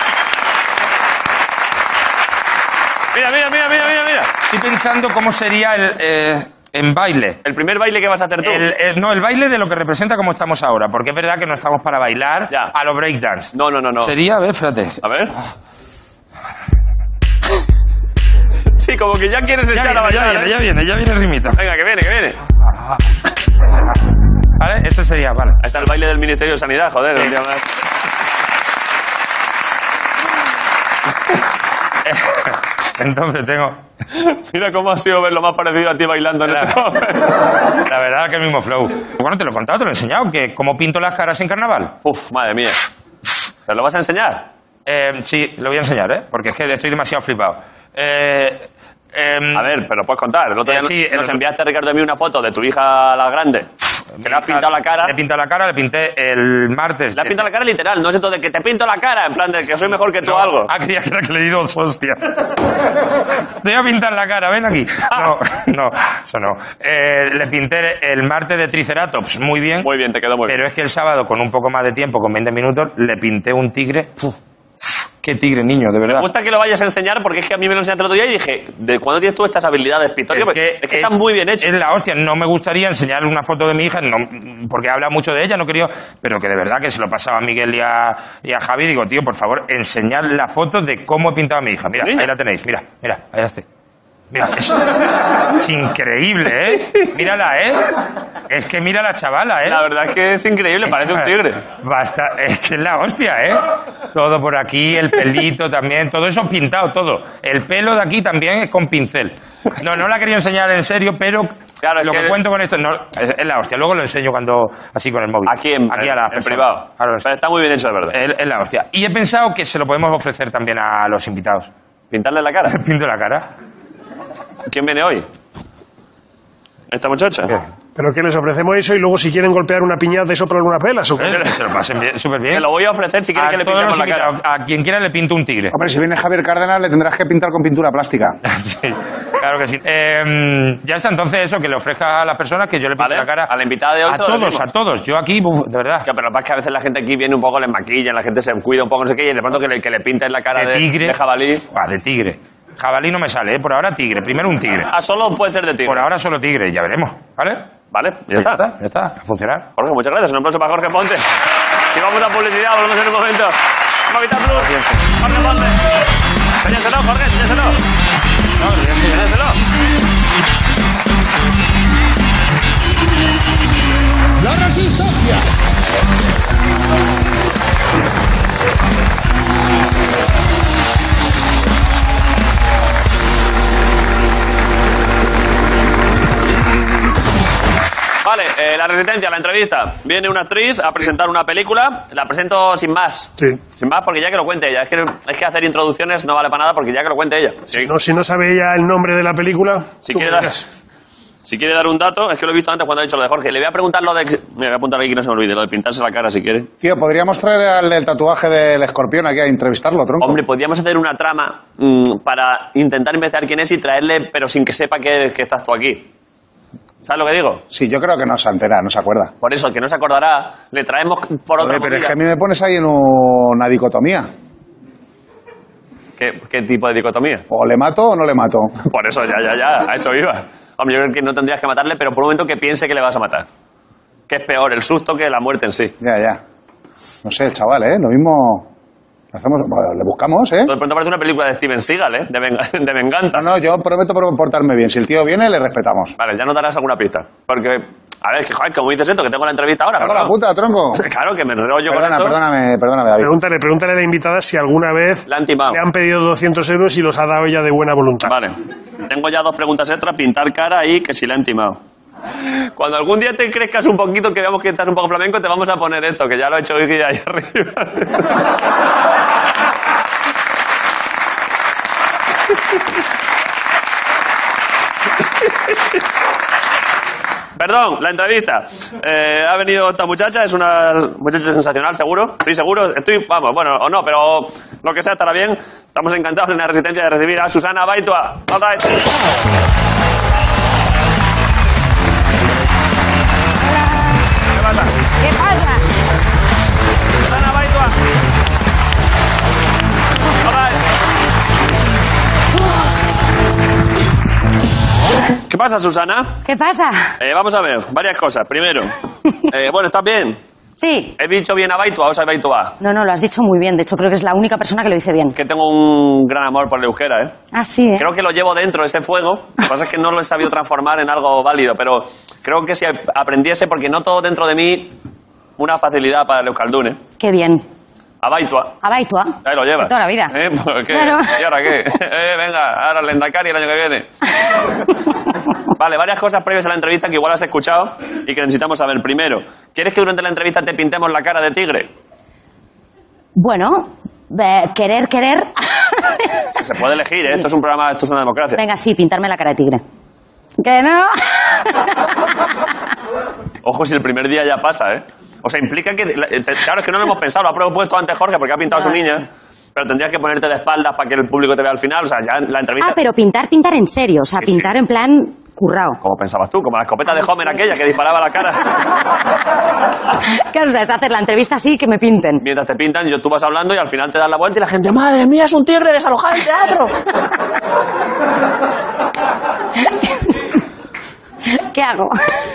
Mira, mira, mira, mira, mira, mira. Estoy pensando cómo sería el eh, en baile. El primer baile que vas a hacer tú. El- el- no, el baile de lo que representa como estamos ahora, porque es verdad que no estamos para bailar Ya. a lo breakdance. No, no, no, no. Sería, a ver, espérate. A ver. Sí, como que ya quieres Ya echar viene, a ya bailar. viene, ¿eh? ya viene, ya viene el ritmito. Venga, que viene, que viene. ¿Vale? Ese sería, vale. Ahí está el baile del Ministerio de Sanidad, joder. un día más. Entonces tengo... Mira cómo ha sido ver lo más parecido a ti bailando en el Claro. La verdad que el mismo flow. Bueno, te lo he contado, te lo he enseñado, que cómo pinto las caras en carnaval. Uf, madre mía. ¿Pero lo vas a enseñar? Eh, sí, lo voy a enseñar, ¿eh? Porque es que estoy demasiado flipado. Eh, em, A ver, pero puedes contar. El otro día Eh, sí, nos el- enviaste, Ricardo, a mí una foto de tu hija la grande. Que le has pintado la cara. Le he pintado la cara, le pinté el martes. Le has pintado la cara literal, no es esto de que te pinto la cara, en plan de que soy mejor que tú No, o algo. Ah, creía que era que le di dos hostias. Te voy a pintar la cara, ven aquí. No, no, eso no. Eh, le pinté el martes de Triceratops, muy bien. Muy bien, te quedó muy bien. Pero es que el sábado, con un poco más de tiempo, con veinte minutos, le pinté un tigre Qué tigre, niño, de verdad. Me gusta que lo vayas a enseñar porque es que a mí me lo enseñaste el otro día y dije, ¿de cuándo tienes tú estas habilidades pictóricas? Es que, es que están muy bien hechas. Es la hostia. No me gustaría enseñarle una foto de mi hija, no, porque habla mucho de ella, no quería, pero que de verdad que se lo pasaba a Miguel y a, y a Javi. Digo, tío, por favor, enseñar la foto de cómo he pintado a mi hija. Mira, Niña. ahí la tenéis. Mira, mira, ahí está. Mira, es, es increíble, ¿eh? Mírala, ¿eh? Es que mira la chavala, ¿eh? La verdad es que es increíble, parece un tigre. Basta, es que es la hostia, ¿eh? Todo por aquí, el pelito también, todo eso pintado, todo. El pelo de aquí también es con pincel. No, no la quería enseñar en serio, pero Claro, es lo que, que- cuento con esto no, es, es la hostia. Luego lo enseño cuando así con el móvil. Aquí en, aquí a la en persona. privado. Ahora lo Pero está muy bien hecho, de verdad. es, es la hostia. Y he pensado que se lo podemos ofrecer también a los invitados. Pintarle la cara. Pinto la cara. ¿Quién viene hoy? ¿Esta muchacha? ¿Pero qué les ofrecemos eso y luego si quieren golpear una piñata y soplar unas velas? ¿O qué? ¿Eh? Que se lo pasen bien, súper bien. Se lo voy a ofrecer si quiere A que le todos pintemos los la cara. invitados, a quien quiera le pinto un tigre. Hombre, si viene Javier Cárdenas le tendrás que pintar con pintura plástica. Sí, claro que sí. Eh, ya está, entonces eso, que le ofrezca a las personas que yo le pinto Vale, la cara. a la invitada de hoy A se lo todos, decimos. a todos. Yo aquí, uf, de verdad. Ya, pero lo que pasa es que a veces la gente aquí viene un poco, les maquilla, la gente se cuida un poco, no sé qué, y de pronto que le, que le pinten la cara de, De tigre. de jabalí. Ah, de tigre. Jabalí no me sale, ¿eh? Por ahora tigre. Primero un tigre. Ah, solo puede ser de tigre. Por ahora solo tigre, ya veremos. ¿Vale? Vale, ya está. Ya está, a funcionar. Jorge, muchas gracias. Un aplauso para Jorge Ponte. Y vamos a publicidad, volvemos en un momento. Movistar Plus. Jorge Ponte. Enséñaselo, Jorge, enséñaselo. No, enséñaselo. La resistencia. Vale, eh, la resistencia, la entrevista. Viene una actriz a presentar una película. La presento sin más. Sí. Sin más, porque ya que lo cuente ella. Es que, es que hacer introducciones no vale para nada porque ya que lo cuente ella. Si, No, si no sabe ella el nombre de la película, si tú quiere me dar, dirás. si quiere dar un dato, es que lo he visto antes cuando ha dicho lo de Jorge. Le voy a preguntar lo de... Me voy a apuntar aquí que no se me olvide, lo de pintarse la cara si quiere. Tío, podríamos traer al del tatuaje del escorpión aquí a entrevistarlo, tronco. Hombre, podríamos hacer una trama mmm, para intentar investigar quién es y traerle, pero sin que sepa que, que estás tú aquí. ¿Sabes lo que digo? Sí, yo creo que no se entera, no se acuerda. Por eso, el que no se acordará, le traemos por otra Joder, pero es movida. que a mí me pones ahí en una dicotomía. ¿Qué, ¿Qué tipo de dicotomía? O le mato o no le mato. Por eso, ya, ya, ya, a eso iba. Hombre, yo creo que no tendrías que matarle, pero por un momento que piense que le vas a matar. Que es peor el susto que la muerte en sí. Ya, ya. No sé, el chaval, ¿eh? Lo mismo... lo hacemos, bueno, le buscamos, ¿eh? De pronto parece una película de Steven Seagal, ¿eh? De, venga- de venganza. No, no, yo prometo por- portarme bien. Si el tío viene, le respetamos. Vale, ya no darás alguna pista. Porque, a ver, que, joder, como dices esto, que tengo la entrevista ahora. ¡Cago pero la no. puta, tronco! Claro, que me enrollo con Perdona, esto. perdóname, perdóname, David. Pregúntale, pregúntale a la invitada si alguna vez Le han timado. le han pedido doscientos euros y los ha dado ella de buena voluntad. Vale. Tengo ya dos preguntas extras, pintar cara y que si le han timado. Cuando algún día te crezcas un poquito, que veamos que estás un poco flamenco, te vamos a poner esto, que ya lo he hecho hoy ahí arriba. Perdón, la entrevista. Eh, ha venido esta muchacha, es una muchacha sensacional, seguro. Estoy seguro, estoy, vamos, bueno, o no, pero lo que sea estará bien. Estamos encantados en la resistencia de recibir a Susana Baitua. Hola. ¿Qué pasa? ¿Qué pasa? Susana Baitua. Hola. ¿Qué pasa, Susana? ¿Qué pasa? Eh, vamos a ver, varias cosas. Primero, eh, bueno, ¿estás bien? Sí. ¿He dicho bien a Baitua o sea Baitua? No, no, lo has dicho muy bien. De hecho, creo que es la única persona que lo dice bien. Que tengo un gran amor por el euskera, ¿eh? Ah, sí, ¿eh? Creo que lo llevo dentro, ese fuego. Lo que pasa es que no lo he sabido transformar en algo válido, pero creo que si aprendiese, porque noto dentro de mí una facilidad para el euskaldun, ¿eh? Qué bien. A Baitua. A Baitua. Ahí lo llevas. De toda la vida. ¿Eh? ¿Por qué? Claro. ¿Y ahora qué? Eh, venga, ahora el Lendakari el año que viene. Vale, varias cosas previas a la entrevista que igual has escuchado y que necesitamos saber. Primero, ¿quieres que durante la entrevista te pintemos la cara de tigre? Bueno, eh, querer, querer. Se puede elegir, ¿eh? Esto es un programa, esto es una democracia. Venga, sí, pintarme la cara de tigre. ¿Que no? Ojo si el primer día ya pasa, ¿eh? O sea, implica que... te- Claro, es que no lo hemos pensado, lo ha propuesto antes Jorge porque ha pintado a su niña, pero tendrías que ponerte de espaldas para que el público te vea al final, o sea, ya la entrevista... Ah, pero pintar, pintar en serio. O sea, Sí, sí. pintar en plan currado. ¿Cómo pensabas tú? Como la escopeta de Homer aquella que disparaba a la cara. Claro, o sea, es hacer la entrevista así que me pinten. Mientras te pintan, yo, tú vas hablando y al final te das la vuelta y la gente, ¡madre mía, es un tigre desalojado del teatro! ¿Qué hago?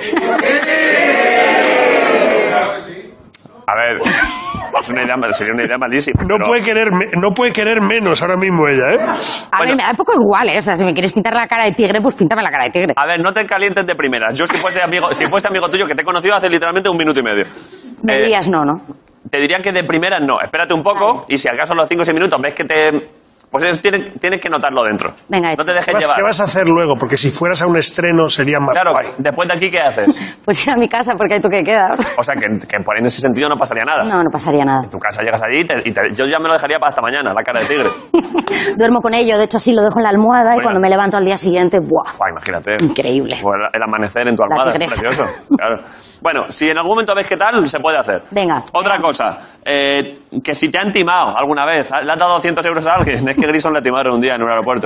A ver, es una idea, sería una idea malísima. No, pero- puede querer, me- no puede querer menos ahora mismo ella, ¿eh? A Bueno. ver, me da un poco igual, ¿eh? O sea, si me quieres pintar la cara de tigre, pues píntame la cara de tigre. A ver, no te calientes de primeras. Yo si fuese amigo, si fuese amigo tuyo, que te he conocido hace literalmente un minuto y medio. Me Eh, dirías no, ¿no? Te diría que de primeras no. Espérate un poco y si acaso a los cinco o seis minutos ves que te... Pues eso tienes, tienes que notarlo dentro. Venga, no hecho. te dejes ¿Qué vas, llevar. qué vas a hacer luego? Porque si fueras a un estreno sería más Claro, guay. después de aquí, ¿qué haces? Pues ir a mi casa porque hay toque de queda. O sea, que, que por en ese sentido no pasaría nada. No, no pasaría nada. En tu casa llegas allí y, te- y te- yo ya me lo dejaría para hasta mañana, la cara de tigre. Duermo con ello, de hecho así lo dejo en la almohada y Bueno. cuando me levanto al día siguiente, ¡buah! Buah, imagínate. Increíble. O el, el amanecer en tu La almohada, es tigresa. precioso. Claro. Bueno, si en algún momento ves qué tal, se puede hacer. Venga. Otra cosa, eh, que si te han timado alguna vez, ¿le has dado doscientos euros a alguien? Es que Grison le timaron un día en un aeropuerto.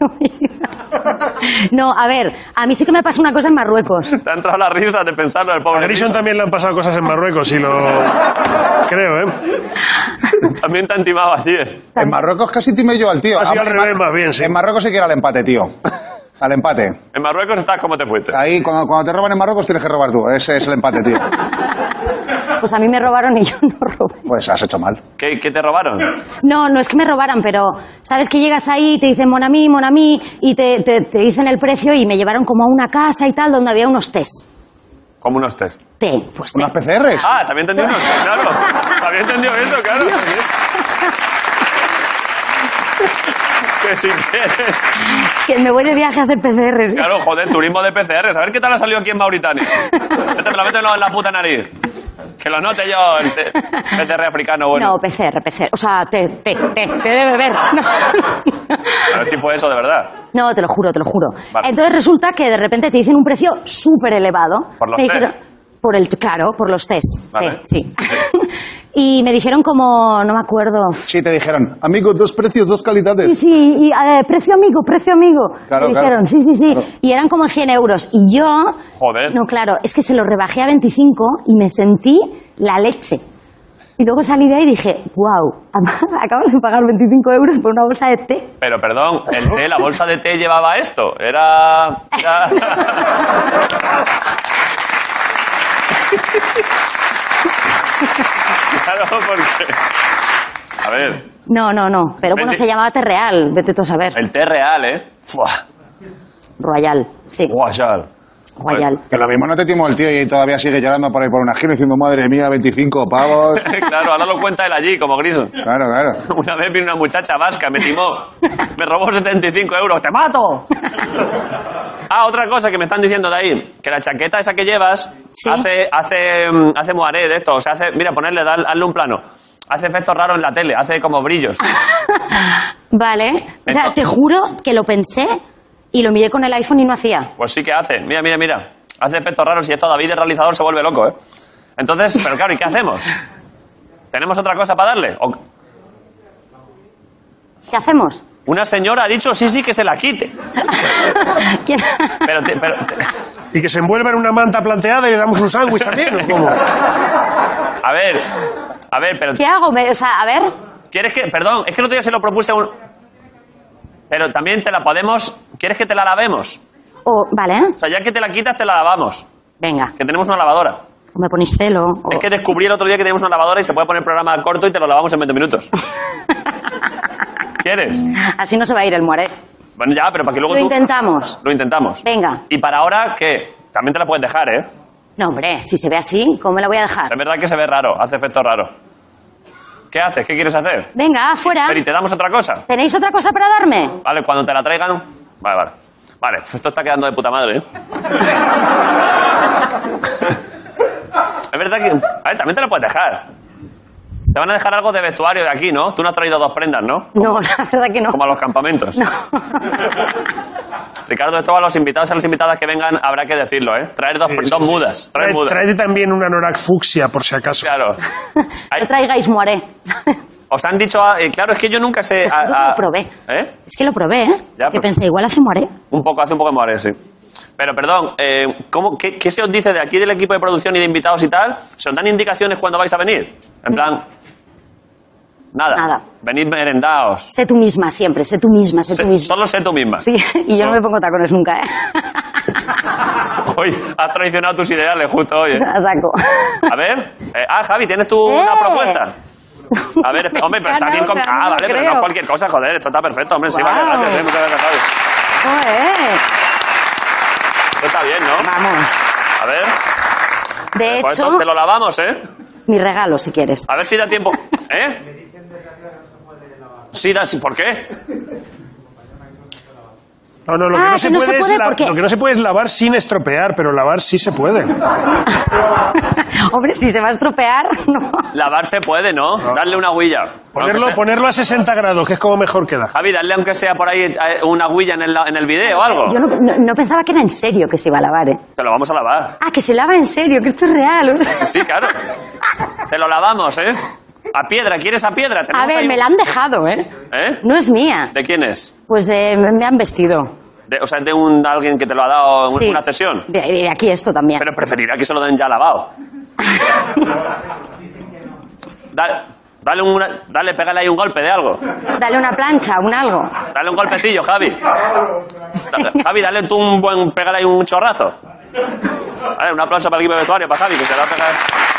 No, a ver, a mí sí que me pasó una cosa en Marruecos. Te ha entrado la risa de pensarlo del A pobre Grison Grison. también le han pasado cosas en Marruecos y lo... Creo, ¿eh? También te han timado allí. ¿eh? En Marruecos casi timé yo al tío. Ha sido Ah, al en revés, Mar- más bien, sí. En Marruecos sí que era al empate, tío. Al empate. En Marruecos estás como te fuiste. Ahí, cuando, cuando te roban en Marruecos, tienes que robar tú. Ese es el empate, tío. Pues a mí me robaron y yo no robé. Pues has hecho mal. ¿Qué, qué te robaron? No, no es que me robaran, pero sabes que llegas ahí y te dicen mon ami, mon ami, y te, te, te dicen el precio y me llevaron como a una casa y tal donde había unos test. Como unos test. Té, pues té. Unas P C Rs. Ah, también entendió unos test, claro. Había entendido eso, claro. Que si quieres. Es que me voy de viaje a hacer P C Rs. Claro, joder, turismo de P C Rs. A ver qué tal ha salido aquí en Mauritania. Este me lo meto en la puta nariz. Que lo note yo, el te- P C R africano, bueno. No, P C R, P C R. O sea, té, té, té, té de beber. No. A ver si fue eso de verdad. No, te lo juro, te lo juro. Vale. Entonces resulta que de repente te dicen un precio súper elevado. Por los Me dijeron- test. Por el, claro, por los test. Vale. té, sí. Y me dijeron como, no me acuerdo. Sí, te dijeron, amigo, dos precios, dos Sí, calidades. sí, y eh, precio amigo, precio amigo. Claro, me claro. dijeron, sí, sí, sí. Claro. Y eran como cien euros. Y yo. Joder. No, claro, es que se lo rebajé a veinticinco y me sentí la leche. Y luego salí de ahí y dije, wow, acabas de pagar veinticinco euros por una bolsa de té. Pero perdón, el té, la bolsa de té llevaba esto. Era. era... Claro, porque. A ver, No, no, no. Pero bueno, Vente- se llamaba té real. Vete tú a saber. el té real, ¿eh? Fua, Royal, sí. guayal. Royal. Que lo mismo no te timó el tío y todavía sigue llorando por ahí por una esquina diciendo, madre mía, veinticinco pavos. Claro, ahora lo cuenta él allí, como Grison. Claro, claro. Una vez vino una muchacha vasca, me timó. Me robó setenta y cinco euros. ¡Te mato! Ah, otra cosa que me están diciendo de ahí. Que la chaqueta esa que llevas Sí. hace, hace, mm, hace moaré de esto. O sea, hace, mira, ponerle, dale- hazle un plano. Hace efectos raros en la tele, hace como brillos. Vale. O sea, Esto- te juro que lo pensé y lo miré con el iPhone y no hacía. Pues sí que hace. Mira, mira, mira. Hace efectos raros y esto David, el realizador, se vuelve loco, ¿eh? Entonces, pero claro, ¿y qué hacemos? ¿Tenemos otra cosa para darle? O- ¿Qué hacemos? Una señora ha dicho sí, sí, que se la quite. ¿Quién- Pero, te- pero te- Y que se envuelva en una manta planteada y le damos un sándwich también, ¿o cómo? a ver, a ver, pero ¿Qué hago? Me- O sea, a ver. ¿quieres que, perdón, es que el otro día se lo propuse a un... Pero también te la podemos, ¿quieres que te la lavemos? O, vale, ¿eh? O sea, ya que te la quitas, te la lavamos. Venga. Que tenemos una lavadora. O me ponéis celo. o- Es que descubrí el otro día que tenemos una lavadora y se puede poner programa corto y te lo lavamos en veinte minutos. ¿Quieres? Así no se va a ir el muere. Bueno, ya, pero para que luego Lo tú... intentamos. Lo intentamos. Venga. Y para ahora, ¿qué? También te la puedes dejar, ¿eh? No, hombre, si se ve así, ¿cómo me la voy a dejar? Es verdad que se ve raro, hace efecto raro. ¿Qué haces? ¿Qué quieres hacer? Venga, afuera. Pero ¿y te damos otra cosa? ¿Tenéis otra cosa para darme? Vale, cuando te la traigan... Vale, vale. Vale, esto está quedando de puta madre, ¿eh? Es verdad que... A ver, también te la puedes dejar. Te van a dejar algo de vestuario de aquí, ¿no? Tú no has traído dos prendas, ¿no? No, la verdad que no. Como a los campamentos. No. Ricardo, esto a los invitados y a las invitadas que vengan habrá que decirlo, ¿eh? Traer dos, Sí, sí, dos sí. mudas. Traer Trae- mudas. Tráete también una anorak fucsia, por si acaso. Claro. Hay- No traigáis muere. os han dicho... a- eh, claro, es que yo nunca sé... Te juro a- que a- lo probé. ¿Eh? Es que lo probé, ¿eh? Ya, que pues. pensé, igual hace muere. Un poco, hace un poco de moare, sí. Pero perdón, eh, ¿cómo, qué, qué se os dice de aquí del equipo de producción y de invitados y tal? O ¿Se os dan indicaciones cuando vais a venir? En plan... Nada. Nada. Venid merendaos. Sé tú misma siempre, sé tú misma, sé, Sé- tú misma. Solo sé tú misma. Sí, y yo no No. me pongo tacones nunca, ¿eh? Hoy has traicionado tus ideales justo hoy, ¿eh? A saco. A ver. eh, ah, Javi, ¿tienes tú ¡Eh! una propuesta? A ver, hombre, pero está No, bien o con... sea, no Ah, lo vale, pero creo. no cualquier cosa, joder. Esto está perfecto, hombre. Sí, vale, Guau. gracias, eh. Muchas gracias, Javi. Joder. Esto está bien, ¿no? Vamos. A ver. De Pues hecho, esto te lo lavamos, ¿eh? mi regalo, si quieres. A ver si da tiempo. ¿Eh? Sí, da... sí, ¿por qué? No, no, lo que Ah, no, que se no puede se es puede la- porque- lo que no se puede es lavar sin estropear, pero lavar sí se puede. Hombre, si se va a estropear, no. Lavar se puede, ¿no? Darle una huilla. Ponerlo, Aunque sea- ponerlo a sesenta grados, que es como mejor queda. Javi, darle aunque sea por ahí eh, una huilla en el, en el video o algo. Yo no, no- no pensaba que era en serio que se iba a lavar, ¿eh? Te lo vamos a lavar. Ah, que se lava en serio, que esto es real. Sí, sí, claro. Te lo lavamos, ¿eh? A piedra, ¿quieres a piedra? A Tenemos ver, ahí me un- la han dejado, ¿eh? ¿Eh? No es mía. ¿De quién es? Pues de, me han vestido. De- o sea, de un alguien que te lo ha dado un- Sí. una cesión. De, de aquí esto también. Pero preferiría que se lo den ya lavado. Dale, dale, una, dale, pégale ahí un golpe de algo. Dale una plancha, un algo. Dale un golpecillo, Javi. Da- Javi, dale tú un buen... Pégale ahí un chorrazo. Vale, un aplauso para el equipo de vestuario, para Javi, que se lo va a pegar.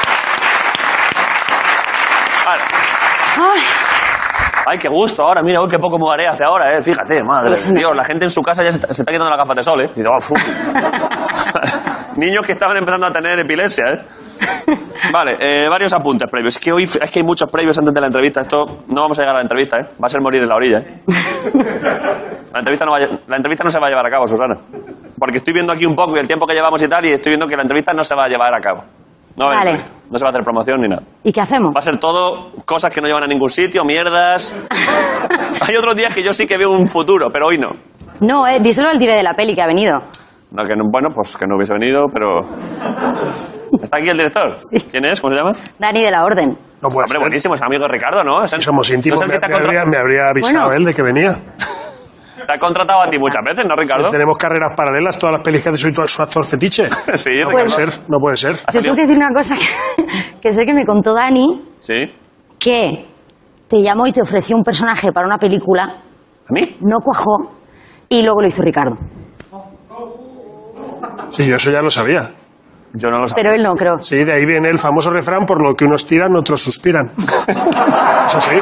Vale. Ay, Ay, qué gusto ahora, mira, uy, qué poco mugaré hace ahora, eh. Fíjate, madre Pues de no. Dios, la gente en su casa ya se está, se está quitando las gafas de sol, eh. Y digo, oh, fu. Niños que estaban empezando a tener epilepsia, eh. Vale, eh, varios apuntes previos. Es que hoy es que hay muchos previos antes de la entrevista. Esto no vamos a llegar a la entrevista, eh. Va a ser morir en la orilla, eh. La entrevista no, va a, la entrevista no se va a llevar a cabo, Susana. Porque estoy viendo aquí un poco y el tiempo que llevamos y tal, y estoy viendo que la entrevista no se va a llevar a cabo. No, va a haber Vale. entrevista. No se va a hacer promoción ni nada. ¿y qué hacemos? Va a ser todo cosas que no llevan a ningún sitio, mierdas. Hay otros días que yo sí que veo un futuro, pero hoy no. No, eh, díselo al dire de la peli que ha venido. No, que no, bueno, pues que no hubiese venido, pero... ¿Está aquí el director? Sí. ¿Quién es? ¿Cómo se llama? Dani de la Orden. No puede Hombre, ser. buenísimo, es amigo de Ricardo, ¿no? Es el- Somos íntimos. ¿no es el me, que te ha, me contra- habría, me habría avisado Bueno. él de que venía. te ha contratado a ti muchas veces, ¿no, Ricardo? Pues tenemos carreras paralelas, todas las pelis que hace soy tu- su actor fetiche. Sí, No Ricardo. puede ser, no puede ser. ¿Ha Yo salido? tengo que decir una cosa que, que sé que me contó Dani, Sí. que te llamó y te ofreció un personaje para una película, ¿A mí? no cuajó, y luego lo hizo Ricardo. Sí, yo eso ya lo sabía. Yo no lo sabía. Pero él no, creo. Sí, de ahí viene el famoso refrán, por lo que unos tiran, otros suspiran. Eso sí.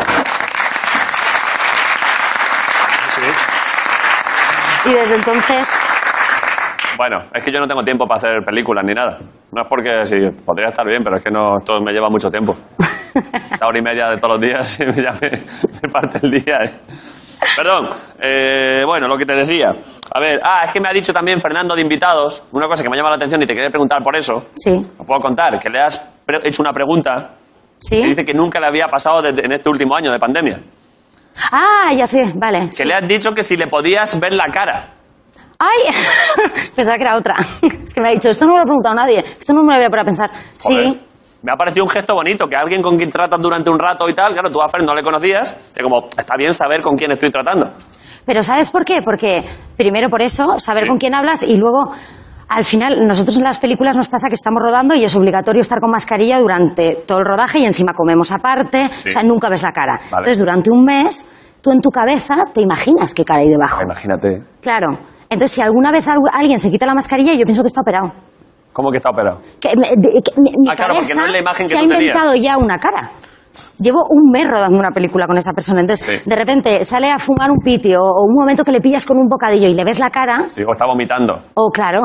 Sí. Y desde entonces, Bueno, es que yo no tengo tiempo para hacer películas ni nada. No es porque sí, podría estar bien, pero es que no, esto me lleva mucho tiempo. Esta hora y media de todos los días y ya me, me parte el día. ¿eh? Perdón. Eh, bueno, lo que te decía. A ver, ah, es que me ha dicho también Fernando de invitados, una cosa que me llama la atención y te quería preguntar por eso. sí, Os puedo contar, que le has pre- hecho una pregunta que sí. dice que nunca le había pasado desde- en este último año de pandemia. Ah, ya sé, vale. sí. Que le has dicho que si le podías ver la cara. ¡Ay! Pensaba que era otra. Es que me ha dicho, esto no me lo ha preguntado nadie. Esto no me lo había para pensar. Joder. Sí. Me ha parecido un gesto bonito, que alguien con quien tratas durante un rato y tal, claro, tú a Fer no le conocías, y como, está bien saber con quién estoy tratando. Pero ¿sabes por qué? Porque primero por eso, saber Sí. con quién hablas y luego, al final, nosotros en las películas nos pasa que estamos rodando y es obligatorio estar con mascarilla durante todo el rodaje y encima comemos aparte, o sea, nunca ves la cara. Entonces, durante un mes, tú en tu cabeza te imaginas qué cara hay debajo. Imagínate. Claro. Entonces, si alguna vez algu- alguien se quita la mascarilla, yo pienso que está operado. ¿Cómo que está operado? Que, me- de- que mi mi Ah, claro, porque cabeza no es la imagen que se ha tú tenías. inventado ya una cara. Llevo un mes rodando una película con esa persona. Entonces, Sí. de repente sale a fumar un piti o, o un momento que le pillas con un bocadillo y le ves la cara. Sí, o está vomitando. Oh, claro.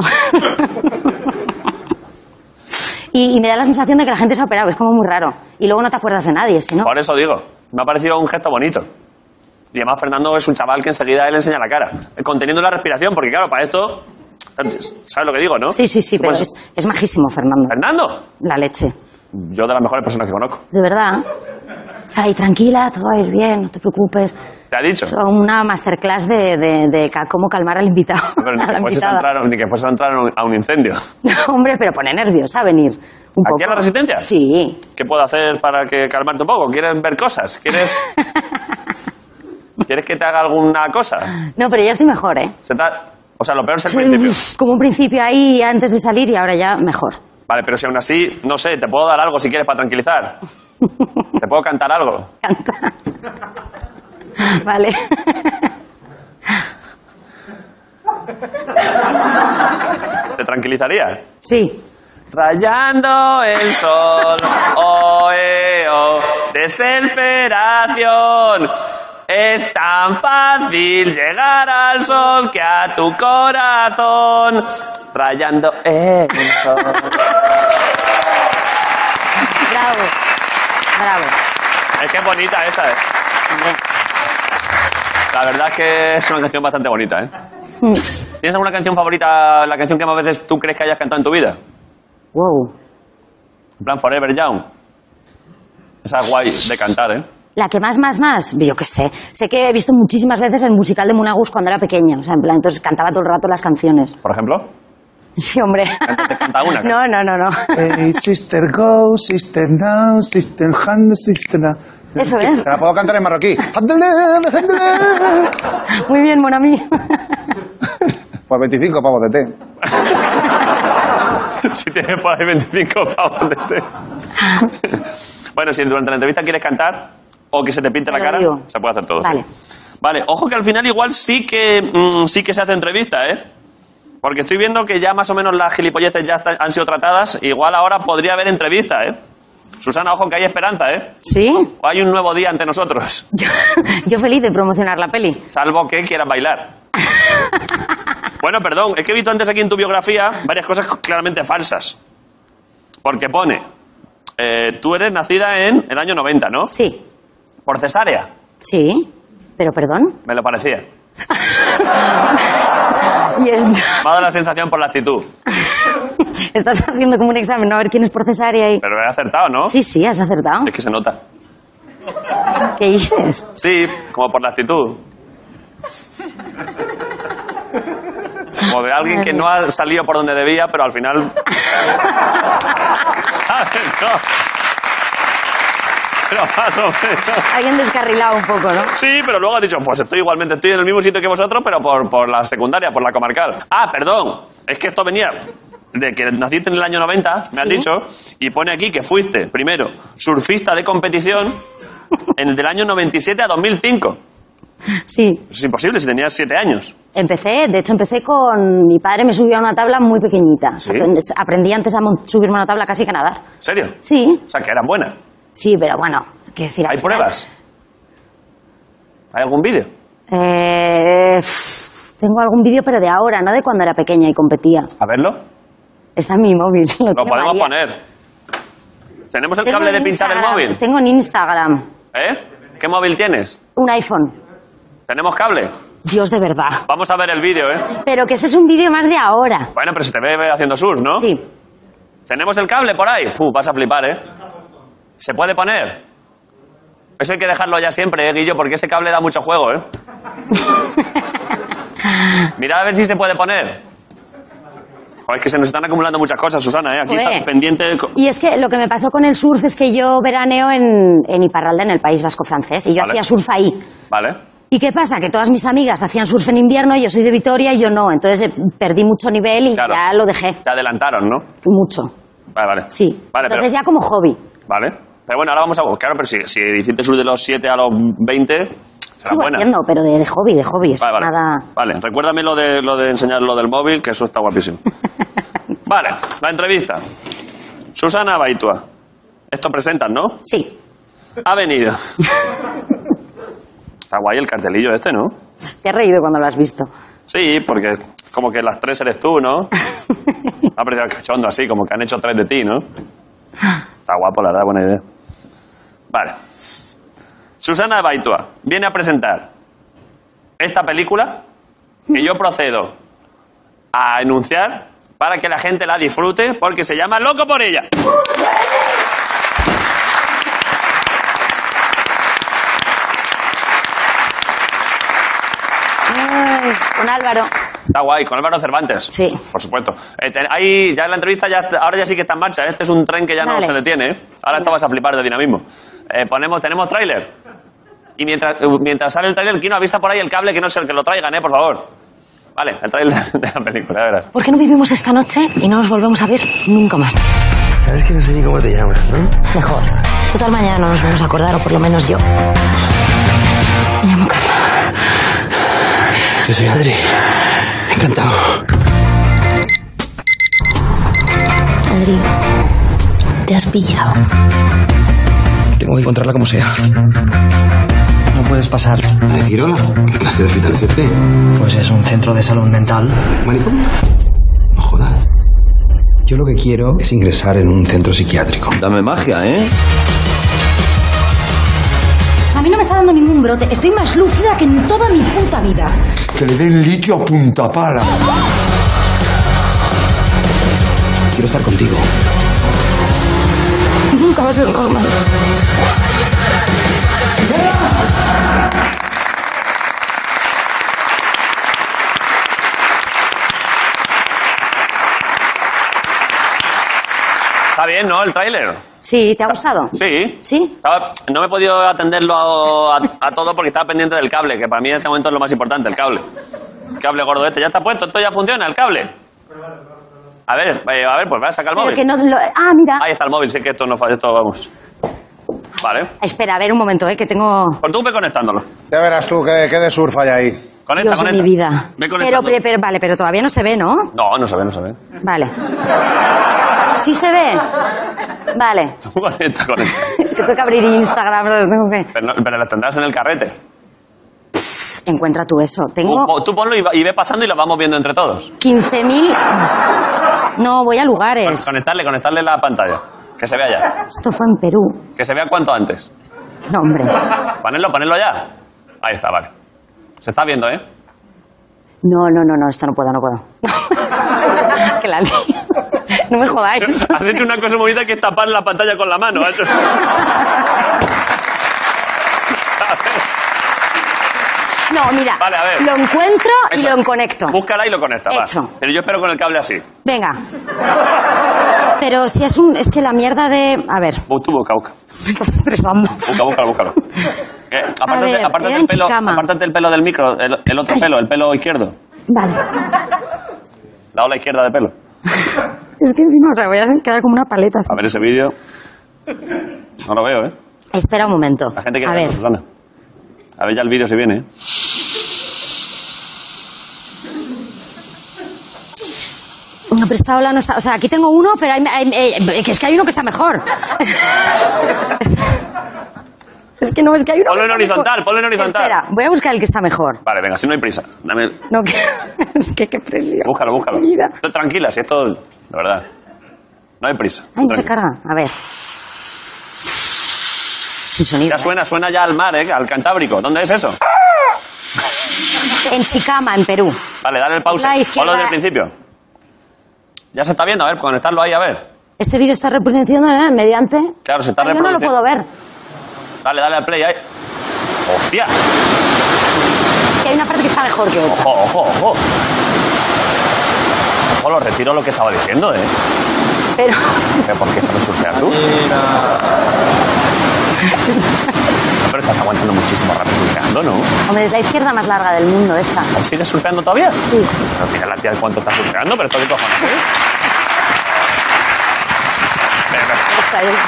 y, y me da la sensación de que la gente se ha operado. Es como muy raro. Y luego no te acuerdas de nadie, ¿sí, no? Por eso digo, me ha parecido un gesto bonito. Y además Fernando es un chaval que enseguida él enseña la cara, eh, conteniendo la respiración, porque claro, para esto, ¿sabes lo que digo, no? Sí, sí, sí, Tú pero pones- es, es majísimo, Fernando. ¿Fernando? La leche. Yo de las mejores personas que conozco. De verdad. Está ahí, tranquila, todo va a ir bien, no te preocupes. ¿Te ha dicho? Una masterclass de, de, de ca- cómo calmar al invitado. Pero ni a la que, fueses a invitada. entrar, ni que fueses a entrar a un, a un incendio. Hombre, pero pone nerviosa venir un ¿Aquí poco. a la Resistencia? Sí. ¿Qué puedo hacer para que calmarte un poco? ¿Quieres ver cosas? ¿Quieres, ¿Quieres que te haga alguna cosa? No, pero ya estoy mejor, ¿eh? Se te ha- O sea, lo peor es el Sí, principio. uf, como un principio ahí antes de salir y ahora ya mejor. Vale, pero si aún así, no sé, te puedo dar algo si quieres para tranquilizar. ¿Te puedo cantar algo? Canta. Vale. ¿Te tranquilizaría? Sí. Rayando el sol, oh, eh, oh, desesperación. Es tan fácil llegar al sol que a tu corazón. Rayando el sol. Bravo. Bravo. Es que es bonita esta, ¿eh? Hombre. La verdad es que es una canción bastante bonita, ¿eh? ¿Tienes alguna canción favorita, la canción que más veces tú crees que hayas cantado en tu vida? Wow. En plan, Forever Young. Esa es guay de cantar, ¿eh? La que más, más, más, yo qué sé. Sé que he visto muchísimas veces el musical de Munagus cuando era pequeña. O sea, en plan, entonces cantaba todo el rato las canciones. ¿Por ejemplo? Sí, hombre. ¿Te canta una? No, no, no, no. Hey, sister go, sister now, sister hand, sister now. Eso es. Te la puedo cantar en marroquí. Muy bien, mon ami. Por veinticinco pavos de té. Si tienes por ahí veinticinco pavos de té. Bueno, si durante la entrevista quieres cantar o que se te pinte Te la lo cara, digo. se puede hacer todo. Vale. Sí. Vale, ojo que al final igual sí que mm, sí que se hace entrevista, ¿eh? Porque estoy viendo que ya más o menos las gilipolleces ya está- han sido tratadas. Igual ahora podría haber entrevista, ¿eh? Susana, ojo que hay esperanza, ¿eh? ¿Sí? O hay un nuevo día ante nosotros. Yo, yo feliz de promocionar la peli. Salvo que quieras bailar. Bueno, perdón, es que he visto antes aquí en tu biografía varias cosas claramente falsas. Porque pone, eh, tú eres nacida en el año noventa, ¿no? Sí. Por cesárea, Sí. Pero perdón. me lo parecía. Y es- Me ha dado la sensación por la actitud. estás haciendo como un examen, ¿no? A ver quién es por cesárea y... Pero he acertado, ¿no? Sí, sí, has acertado. Es que se nota. ¿Qué dices? Sí, como por la actitud. Como de alguien que no ha salido por donde debía, pero al final... ¿Sabes? No. Pero más o menos... Alguien descarrilado un poco, ¿no? Sí, pero luego has dicho, pues estoy igualmente, estoy en el mismo sitio que vosotros, pero por, por la secundaria, por la comarcal. Ah, perdón, es que esto venía de que naciste en el año noventa, me has Sí. dicho, y pone aquí que fuiste, primero, surfista de competición en el del año noventa y siete a dos mil cinco. Sí. Eso es imposible si tenías siete años. Empecé, de hecho empecé con... Mi padre me subió a una tabla muy pequeñita. O sea, ¿Sí? que aprendí antes a mon- subirme a una tabla casi que a nadar. ¿En serio? Sí, O sea, que eras buena. sí, pero bueno, quiero decir... al ¿Hay final- pruebas? ¿Hay algún vídeo? Eh, pff, tengo algún vídeo, pero de ahora, no de cuando era pequeña y competía. A verlo. Está en mi móvil. Lo, Lo tiene podemos María. poner. ¿Tenemos el Tengo cable de en pinchar el Instagram, móvil? Tengo en Instagram ¿Eh? ¿Qué móvil tienes? un iPhone. ¿Tenemos cable? Dios, de verdad. Vamos a ver el vídeo, ¿eh? Pero que ese es un vídeo más de ahora. Bueno, pero se te ve haciendo surf, ¿no? Sí. ¿Tenemos el cable por ahí? Fu, vas a flipar, ¿eh? ¿Se puede poner? Eso hay que dejarlo ya siempre, ¿eh, Guillo? Porque ese cable da mucho juego, ¿eh? Mirad a ver si se puede poner. Joder, es que se nos están acumulando muchas cosas, Susana, ¿eh? Aquí Joder. está pendiente... de co- Y es que lo que me pasó con el surf es que yo veraneo en, en Iparralde, en el País Vasco francés, y yo Vale. hacía surf ahí. Vale. ¿Y qué pasa? Que todas mis amigas hacían surf en invierno, yo soy de Vitoria y yo no. Entonces eh, perdí mucho nivel y Claro. ya lo dejé. Te adelantaron, ¿no? Mucho. Vale, vale. Sí. Vale, pero... Entonces ya como hobby. Vale. Pero bueno, ahora vamos a... Claro, pero si, si hiciste sur de los siete a los veinte... será Sigo buena. haciendo, pero de, de hobby, de hobby. Eso Vale, vale. nada... Vale, recuérdame lo de, lo de enseñar lo del móvil, que eso está guapísimo. Vale, la entrevista. Susana Baitua. Esto presentan, ¿no? Sí. Ha venido. Está guay el cartelillo este, ¿no? Te has reído cuando lo has visto. Sí, porque como que las tres eres tú, ¿no? Me ha parecido cachondo así, como que han hecho tres de ti, ¿no? Está guapo, la verdad, buena idea. Vale. Susana Baitua viene a presentar esta película que yo procedo a enunciar para que la gente la disfrute porque se llama Loco por ella. Ay, con Álvaro. Está guay, con Álvaro Cervantes. Sí. Por supuesto. Eh, te- ahí, ya en la entrevista, ya, ahora ya sí que está en marcha. Este es un tren que ya no Vale. se detiene. ¿eh? Ahora esto vas a flipar de dinamismo. Eh, ponemos, tenemos tráiler. Y mientras, eh, mientras sale el tráiler, ¿quién avisa por ahí el cable que no es el que lo traigan, eh, por favor? Vale, el trailer de la película, ya verás. ¿Por qué no vivimos esta noche y no nos volvemos a ver nunca más? Sabes que no sé ni cómo te llamas, ¿no? Mejor. Total, mañana no nos vamos a acordar, o por lo menos yo. Me llamo Cata. Yo soy Adri. Encantado. Adri, te has pillado. Tengo que encontrarla como sea. No puedes pasar. ¿A decir hola? ¿Qué clase de hospital es este? Pues es un centro de salud mental. ¿Manicomio? No jodas. Yo lo que quiero es ingresar en un centro psiquiátrico. Dame magia, ¿eh? A mí no me está dando ningún brote. Estoy más lúcida que en toda mi puta vida. Que le den litio a punta pala. Quiero estar contigo. Nunca va a ser normal. Está bien, ¿no? El tráiler. Sí, ¿te ha gustado? Sí. ¿Sí? Estaba- no me he podido atenderlo a, a- a todo porque estaba pendiente del cable, que para mí en este momento es lo más importante, el cable. El cable gordo este. Ya está puesto, esto ya funciona, el cable. A ver, eh, a ver, pues va a sacar el Pero móvil. que no lo- Ah, mira. Ahí está el móvil, sí que esto no falla, esto vamos. Vale. Espera, a ver un momento, ¿eh? Que tengo... Pues tú ve conectándolo. Ya verás tú qué, qué de surf hay ahí. Conecta, Dios de conecta. mi vida. Ve Pero, conectando. pero, pero, vale, pero todavía no se ve, ¿no? No, no se ve, no se ve. Vale. ¿Sí se ve? Vale. Tú conecta, conecta. Es que tengo que abrir Instagram, ¿sabes? Tengo que... Pero, no- pero la tendrás en el carrete. Encuentra tú eso. Tú, Tengo po- tú ponlo y, va- y ve pasando y lo vamos viendo entre todos. quince mil... No, voy a lugares. Conectarle, conectarle la pantalla. Que se vea ya. Esto fue en Perú. Que se vea cuanto antes. No, hombre. Ponerlo, ponerlo ya. Ahí está, vale. Se está viendo, ¿eh? No, no, no, no, esto no puedo, no puedo. Que la lío. No me jodáis. Has hecho una cosa bonita que es tapar la pantalla con la mano. ¿Has hecho? No, mira. Vale, a ver. Lo encuentro y Eso. lo conecto. Búscala y lo conecta, va. Hecho. Pero yo espero con el cable así. Venga. Pero si es un... Es que la mierda de... A ver, Bu- Tú busca, busca. me estás estresando. Busca, búscalo, búscalo. Eh, apártate, ver, apártate era el en pelo, Chicama. apártate el pelo del micro, el, el otro Ay. pelo, el pelo izquierdo. Vale. La ola izquierda de pelo. Es que encima, o sea, voy a quedar como una paleta. A ver ese vídeo. No lo veo, ¿eh? Espera un momento. La gente quiere A verlo, ver. Susana. A ver ya el vídeo si viene, ¿eh? No, pero esta ola no está... O sea, aquí tengo uno, pero hay, hay- hay- que es que hay uno que está mejor. Es que no, es que hay uno... Ponlo que en está horizontal, mejor. ponlo en horizontal. Espera, voy a buscar el que está mejor. Vale, venga, si no hay prisa. Dame... No, que... Es que qué presión. Búscalo, búscalo. Mi vida. Esto, tranquila, si esto... De verdad. No hay prisa. Ay, no se Tranquila. carga. A ver. Sin sonido. Ya ¿eh? suena, suena ya al mar, ¿eh? Al Cantábrico. ¿Dónde es eso? En Chicama, en Perú. Vale, dale el pause. La izquierda- Ponlo desde el principio. Ya se está viendo, a ver, conectarlo ahí, a ver. Este vídeo está reproduciendo ¿eh? mediante... Claro, se está Ay, yo no lo reproduciendo. puedo ver. Dale, dale al play ahí. ¡Hostia! Que hay una parte que está mejor que otra. Ojo, ojo, ojo. Ojo, lo retiro lo que estaba diciendo, ¿eh? Pero... ¿Pero ¿Por qué sabes surfear tú? No, pero estás aguantando muchísimo rato surfeando, ¿no? Hombre, es la izquierda más larga del mundo, esta. ¿Ahí ¿Sigues surfeando todavía? Sí. Pero mira la tía cuánto está surfeando, pero esto qué cojones, ¿eh? Ven, ven. Esta es...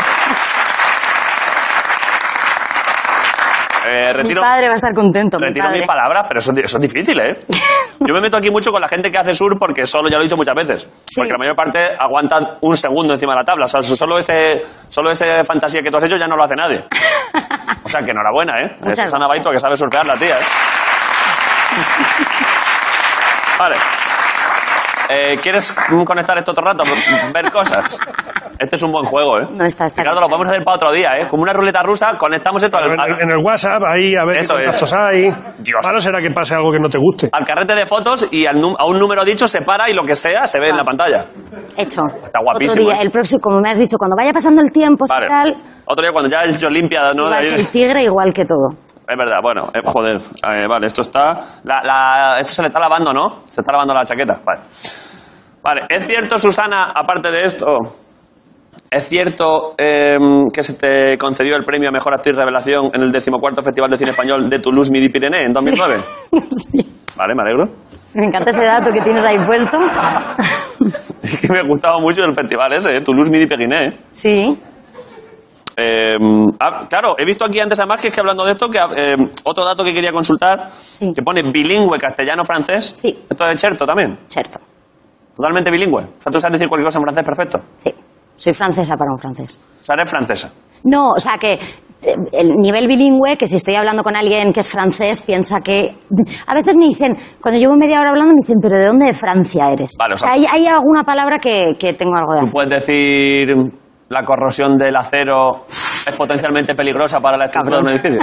Eh, Mi retiro, padre va a estar contento, mi retiro padre. mis palabras, pero eso, eso es difícil, ¿eh? Yo me meto aquí mucho con la gente que hace surf porque solo, ya lo he dicho muchas veces, Sí. porque la mayor parte aguantan un segundo encima de la tabla. O sea, solo ese, solo ese fantasía que tú has hecho ya no lo hace nadie. O sea, que enhorabuena, ¿eh? Muchas Es Susana gracias. Baito que sabe surfear la tía, ¿eh? Vale. Eh, ¿Quieres conectar esto otro rato? Ver cosas. Este es un buen juego, ¿eh? No está, está Ricardo, bien. lo podemos hacer para otro día, ¿eh? Como una ruleta rusa, conectamos esto al, En al- el, en el WhatsApp, ahí, a ver Eso qué contactos es. hay. Dios. Malo será que pase algo que no te guste. al carrete de fotos y al num- a un número dicho se para y lo que sea se ve en la pantalla. Hecho. Está guapísimo, Otro día, ¿eh? el próximo, como me has dicho, cuando vaya pasando el tiempo, si Vale. tal, Otro día cuando ya has hecho limpia, ¿no? De igual ahí- que el tigre, igual que todo. Es verdad, bueno, eh, joder. Eh, vale, esto está... La, la- esto se le está lavando, ¿no? Se está lavando la chaqueta. Vale. Vale, es cierto, Susana, aparte de esto, es cierto eh, que se te concedió el premio a Mejor Actriz Revelación en el decimocuarto Festival de Cine Español de Toulouse Midi Pyrénées en dos mil nueve. Sí. Vale, me alegro. Me encanta ese dato que tienes ahí puesto. Es que me gustaba mucho el festival ese, ¿eh? Toulouse Midi Péguinet. ¿eh? Sí. Eh, ah, claro, he visto aquí antes además que es que hablando de esto, que eh, otro dato que quería consultar, sí. que pone bilingüe castellano-francés. Sí. ¿Esto es cierto también? Cierto. Totalmente bilingüe. O sea, tú sabes decir cualquier cosa en francés perfecto. Sí. Soy francesa para un francés. O sea, eres francesa. No, o sea que eh, el nivel bilingüe, que si estoy hablando con alguien que es francés, piensa que... A veces me dicen, cuando llevo media hora hablando, me dicen, ¿pero de dónde de Francia eres? Vale, o sea, o sea, hay, hay alguna palabra que, que tengo algo de Tú hacer. puedes decir la corrosión del acero es potencialmente peligrosa para la estructura de un edificio.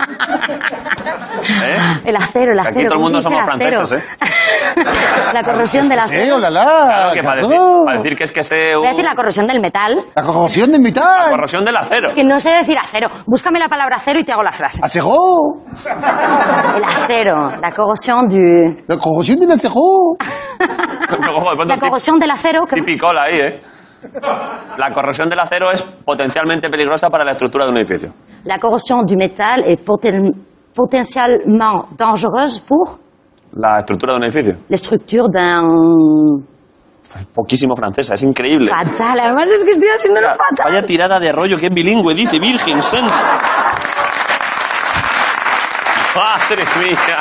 ¿Eh? El acero, el acero. Aquí todo el ¿cómo mundo se dice somos el acero? franceses, ¿eh? La corrosión del acero. Sí, olala. Claro, que para decir, para decir que es que sé... Voy a decir la corrosión del metal. La corrosión del La metal. corrosión del acero. Es que no sé decir acero. Búscame la palabra acero y te hago la frase. Acero. El acero. La corrosión du... La corrosión del acero. La corrosión del acero. que- Tipicola ahí, ¿eh? La corrosión del acero es potencialmente peligrosa para la estructura de un edificio. La corrosión du métal est poten- potentiellement dangereuse pour La estructura de un edificio. la structure d'un... Poquísimo francesa, es increíble. Fatal. Además es que estoy haciéndolo Vaya, fatal. vaya tirada de rollo que es bilingüe, dice Virgen Santa. Madre mía.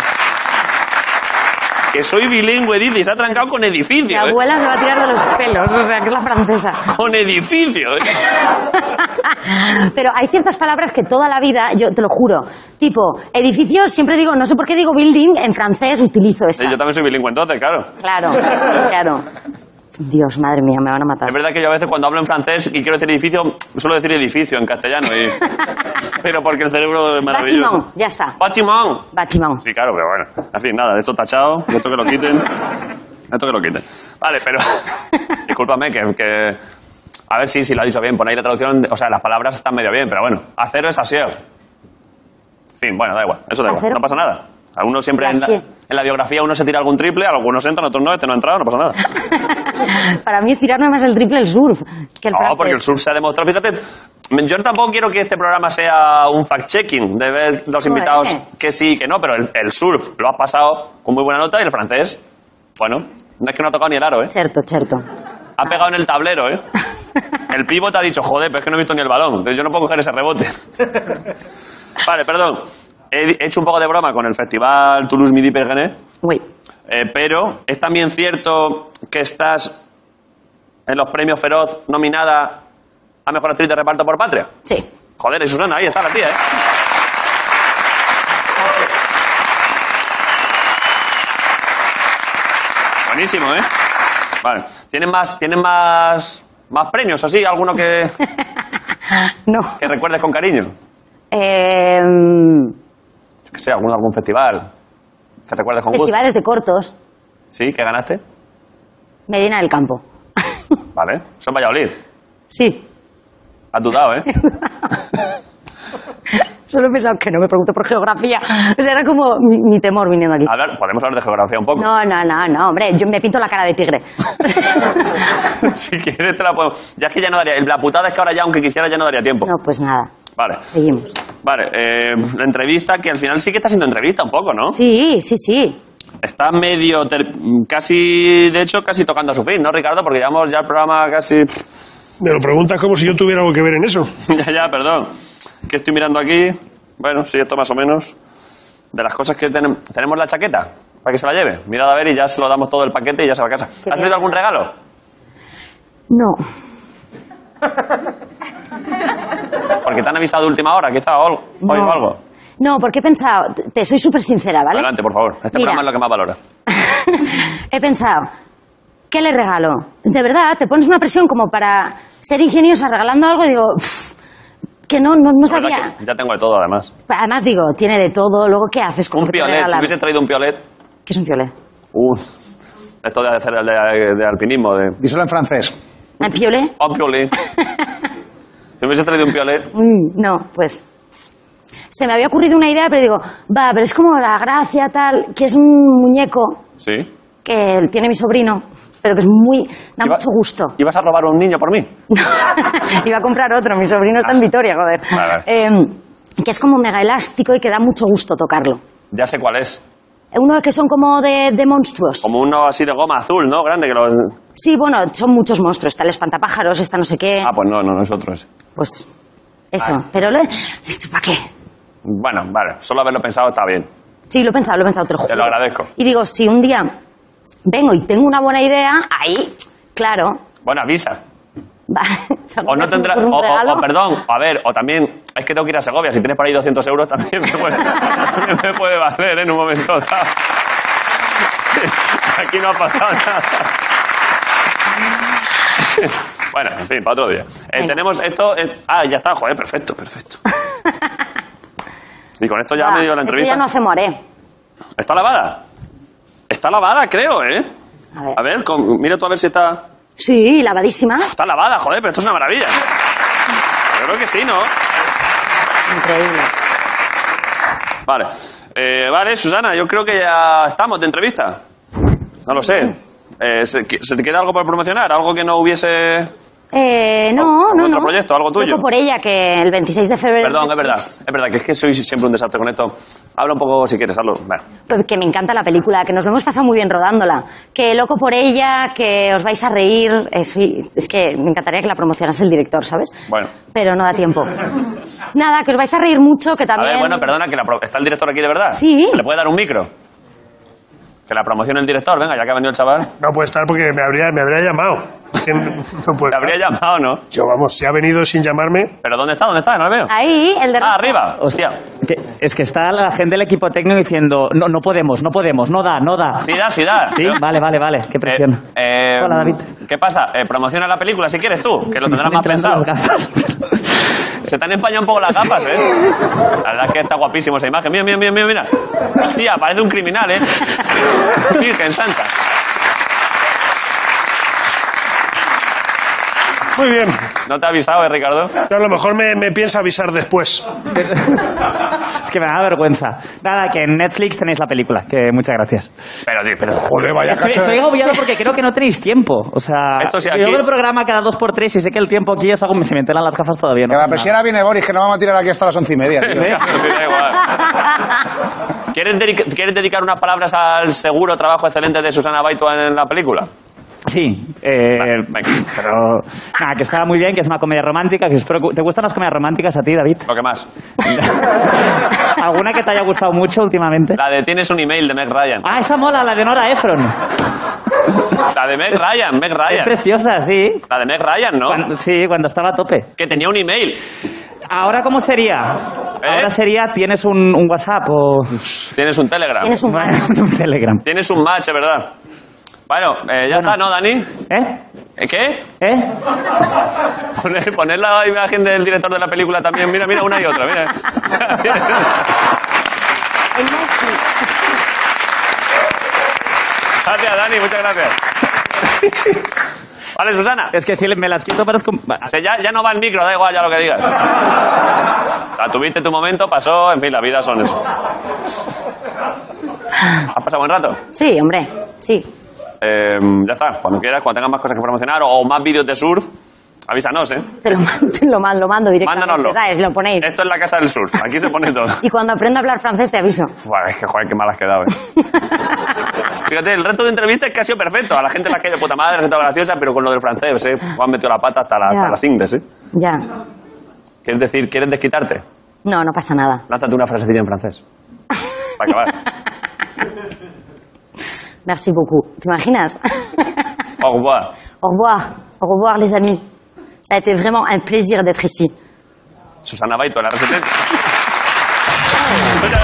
Que soy bilingüe, dice, y se ha trancado con Mi edificio. ¿eh? abuela se va a tirar de los pelos, o sea, que es la francesa. Con edificio. ¿eh? Pero hay ciertas palabras que toda la vida, yo te lo juro, tipo, edificios, siempre digo, no sé por qué digo building, en francés utilizo esa. Sí, yo también soy bilingüe entonces, claro. Claro, claro. Dios, madre mía, me van a matar. Es verdad que yo a veces cuando hablo en francés y quiero decir edificio, suelo decir edificio en castellano. Y... Pero porque el cerebro es maravilloso. Bâtiment, ya está. Bâtiment. Bâtiment. Sí, claro, pero bueno. En fin, nada, esto tachado, esto que lo quiten. Esto que lo quiten. Vale, pero... Discúlpame, que, que... A ver si, si lo ha dicho bien, ponéis la traducción... O sea, las palabras están medio bien, pero bueno. Acero es asier. En fin, bueno, da igual. Eso da igual. Acero. No pasa nada. A uno siempre en la, Gracias. en la biografía uno se tira algún triple, algunos entran, otros no, este no ha entrado, no pasa nada. Para mí es tirarme más el triple el surf que el No, francés. porque el surf se ha demostrado. Fíjate, yo tampoco quiero que este programa sea un fact-checking de ver los Joder. invitados que sí, que no, pero el, el surf lo has pasado con muy buena nota y el francés, bueno, no es que no ha tocado ni el aro, ¿eh? Cierto, cierto. Ha pegado en el tablero, ¿eh? El pívot ha dicho, joder, pero es que no he visto ni el balón, pero yo no puedo coger ese rebote. Vale, perdón. He hecho un poco de broma con el festival Toulouse Midi Péguinet. Uy. Eh, pero es también cierto que estás en los premios Feroz nominada a Mejor Actriz de Reparto por Patria. Sí. Joder, y Susana, ahí está la tía, ¿eh? Buenísimo, ¿eh? Vale. ¿Tienen más, ¿tienen más, más premios así? ¿Alguno que, No. que recuerdes con cariño? Eh, Yo qué sé, algún, algún festival que recuerdes con gusto. festivales de cortos. ¿Sí? ¿Que ganaste? Medina del Campo. Vale. Eso en Valladolid. Sí. Has dudado, ¿eh? Solo he pensado que no me pregunto por geografía. O sea, era como mi, mi temor viniendo aquí. Hablar, podemos hablar de geografía un poco. No, no, no, no, hombre, yo me pinto la cara de tigre. Si quieres te la puedo... Ya es que ya no daría... La putada es que ahora ya, aunque quisiera, ya no daría tiempo. No, pues nada, Vale. seguimos. Vale, eh, la entrevista, que al final sí que está siendo entrevista un poco, ¿no? Sí, sí, sí. Está medio... ter- Casi, de hecho, casi tocando a su fin, ¿no, Ricardo? Porque llevamos ya el programa casi... Me lo preguntas como si yo tuviera algo que ver en eso. ya, ya, perdón. ¿Qué estoy mirando aquí? Bueno, sí, esto más o menos. De las cosas que tenemos... ¿Tenemos la chaqueta? Para que se la lleve. Mirad a ver y ya se lo damos todo el paquete y ya se va a casa. Qué ¿Has bien. oído algún regalo? No. Porque te han avisado de última hora, quizá, o algo. No. Oigo algo. No, porque he pensado, te- te soy súper sincera, ¿vale? Adelante, por favor. Este Mira. programa es lo que más valora. He pensado, ¿qué le regalo? De verdad, te pones una presión como para ser ingeniosa regalando algo y digo, "Pff, que no, no, no La verdad sabía. que ya tengo de todo, además. Además digo, tiene de todo, luego ¿qué haces con Un lo que te piolet, si regalan? hubiese traído un piolet... ¿Qué es un piolet? Uh, esto de hacer el de, de alpinismo, de... Díselo en francés. ¿Un piolet? Un piolet. Si hubiese traído un piolet... Mm, no, pues... Se me había ocurrido una idea, pero digo, va, pero es como la gracia tal, que es un muñeco Sí. que tiene mi sobrino, pero que es muy... da Iba- mucho gusto. ¿Ibas a robar a un niño por mí? Iba a comprar otro, mi sobrino está en Vitoria, joder. Vale. Eh, que es como mega elástico y que da mucho gusto tocarlo. Ya sé cuál es. Unos que son como de, de monstruos. Como uno así de goma azul, ¿no? Grande que los... Sí, bueno, son muchos monstruos. Está el espantapájaros, está no sé qué. Ah, pues no, no, nosotros. Pues eso. Ah. Pero, lo... ¿para qué? Bueno, vale, solo haberlo pensado está bien. Sí, lo he pensado, lo he pensado, te lo juro. Te lo agradezco. Y digo, si un día vengo y tengo una buena idea, ahí, claro. Bueno, avisa. Vale. O no tendrá, o, o, o perdón, a ver, o también, es que tengo que ir a Segovia, si tienes por ahí doscientos euros también me puede, también me puede valer, ¿eh? En un momento dado. Aquí no ha pasado nada. Bueno, en fin, para otro día. Eh, tenemos esto, eh, ah, ya está, joder, perfecto, perfecto. Y con esto ya Va, me dio la entrevista. Eso ya no hace moré. ¿Está lavada? Está lavada, creo, ¿eh? A ver. A ver, con, mira tú a ver si está... Sí, lavadísima. Está lavada, joder, pero esto es una maravilla. Yo creo que sí, ¿no? Increíble. Vale. Eh, vale, Susana, yo creo que ya estamos de entrevista. No lo sé. Eh, ¿se, ¿Se te queda algo por promocionar? ¿Algo que no hubiese...? Eh, no, ¿Algún no, otro no. proyecto, algo tuyo? Loco por ella, que el veintiséis de febrero... Perdón, es verdad. Es verdad, que es que soy siempre un desastre con esto. Habla un poco si quieres, hablo. Bueno. Que me encanta la película, que nos lo hemos pasado muy bien rodándola. Que loco por ella, que os vais a reír. Es, es que me encantaría que la promocionase el director, ¿sabes? Bueno. Pero no da tiempo. Nada, que os vais a reír mucho, que también... A ver, bueno, perdona, que la pro- ¿está el director aquí de verdad? Sí. ¿Se le puede dar un micro? Que la promocione el director, venga, ya que ha venido el chaval. No puede estar porque me habría, me habría llamado. Es que no, no puede Te habría estar. llamado, ¿no? Yo, vamos, si ha venido sin llamarme... ¿Pero dónde está? ¿Dónde está? No lo veo. Ahí, el de... Ah, arriba. Hostia. Que- es que está la gente del equipo técnico diciendo, no, no podemos, no podemos, no da, no da. Sí da, sí da. Sí, vale, vale, vale, qué presión. Eh, eh, Hola, David. ¿Qué pasa? Eh, promociona la película si quieres tú, que lo Me tendrás están más entrando pensado. las gafas. Se te han empañado un poco las gafas, ¿eh? La verdad es que está guapísimo esa imagen. Mira, mira, mira, mira, mira. Hostia, parece un criminal, ¿eh? Virgen Santa. Muy bien. ¿No te ha avisado, eh, Ricardo? Yo a lo mejor me, me piensa avisar después. Es que me da vergüenza. Nada, que en Netflix tenéis la película, que muchas gracias. Pero, tío, pero... Joder, vaya Estoy, cacho de- estoy agobiado porque creo que no tenéis tiempo. O sea, Esto sí, yo aquí- veo el programa cada dos por tres y sé que el tiempo aquí es algo que se me enteran las gafas todavía. No Que la pasa persiana viene Boris, que no vamos a tirar aquí hasta las once y media, tío. Claro, sí, da igual. ¿Quieres, dedica- ¿Quieres dedicar unas palabras al seguro trabajo excelente de Susana Baitua en la película? Sí, eh, Vale, venga. pero nada, que está muy bien, que es una comedia romántica, que espero que- ¿te gustan las comedias románticas a ti, David? Lo que más. ¿Alguna que te haya gustado mucho últimamente? La de Tienes un email de Meg Ryan. Ah, esa mola, la de Nora Ephron. La de Meg Ryan, Meg Es Ryan. preciosa, sí. La de Meg Ryan, ¿no? Cuando- sí, cuando estaba a tope. Que tenía un email. ¿Ahora cómo sería? ¿Eh? Ahora sería, ¿tienes un, un WhatsApp o...? Tienes un Telegram. Tienes un match. un Telegram. Tienes un match, es verdad. Bueno, eh, ya está, ¿no, Dani? ¿Eh? ¿Eh, ¿Qué? ¿Eh? Poner, poner la imagen del director de la película también. Mira, mira, una y otra, mira. Gracias, Dani, muchas gracias. Vale, Susana. Es que si me las quito parezco... O sea, ya, ya no va el micro, da igual ya lo que digas. La tuviste tu momento, pasó, en fin, la vida son eso. ¿Has pasado buen rato? Sí, hombre, sí. Eh, ya está, cuando quieras, cuando tengas más cosas que promocionar o, o más vídeos de surf, avísanos, ¿eh? Te lo mando, te lo mando, lo mando directamente, Mándanoslo. ¿sabes? Lo ponéis. Esto es la casa del surf, aquí se pone todo. Y cuando aprenda a hablar francés te aviso. Buah, es que joder, qué mal has quedado, ¿eh? Fíjate, el resto de entrevistas es que ha sido perfecto. A la gente la que de puta madre, ha estado graciosa, pero con lo del francés, ¿eh? O han metido la pata hasta, la, hasta Ya. las ingles, ¿eh? Ya. ¿Quieres decir, quieres desquitarte? No, no pasa nada. Lánzate una frasecilla en francés. Para acabar. Merci beaucoup. ¿Te imaginas? Au revoir. Au revoir. Au revoir, les amis. Ça a été vraiment un plaisir d'être ici. Susana Baito, la receta.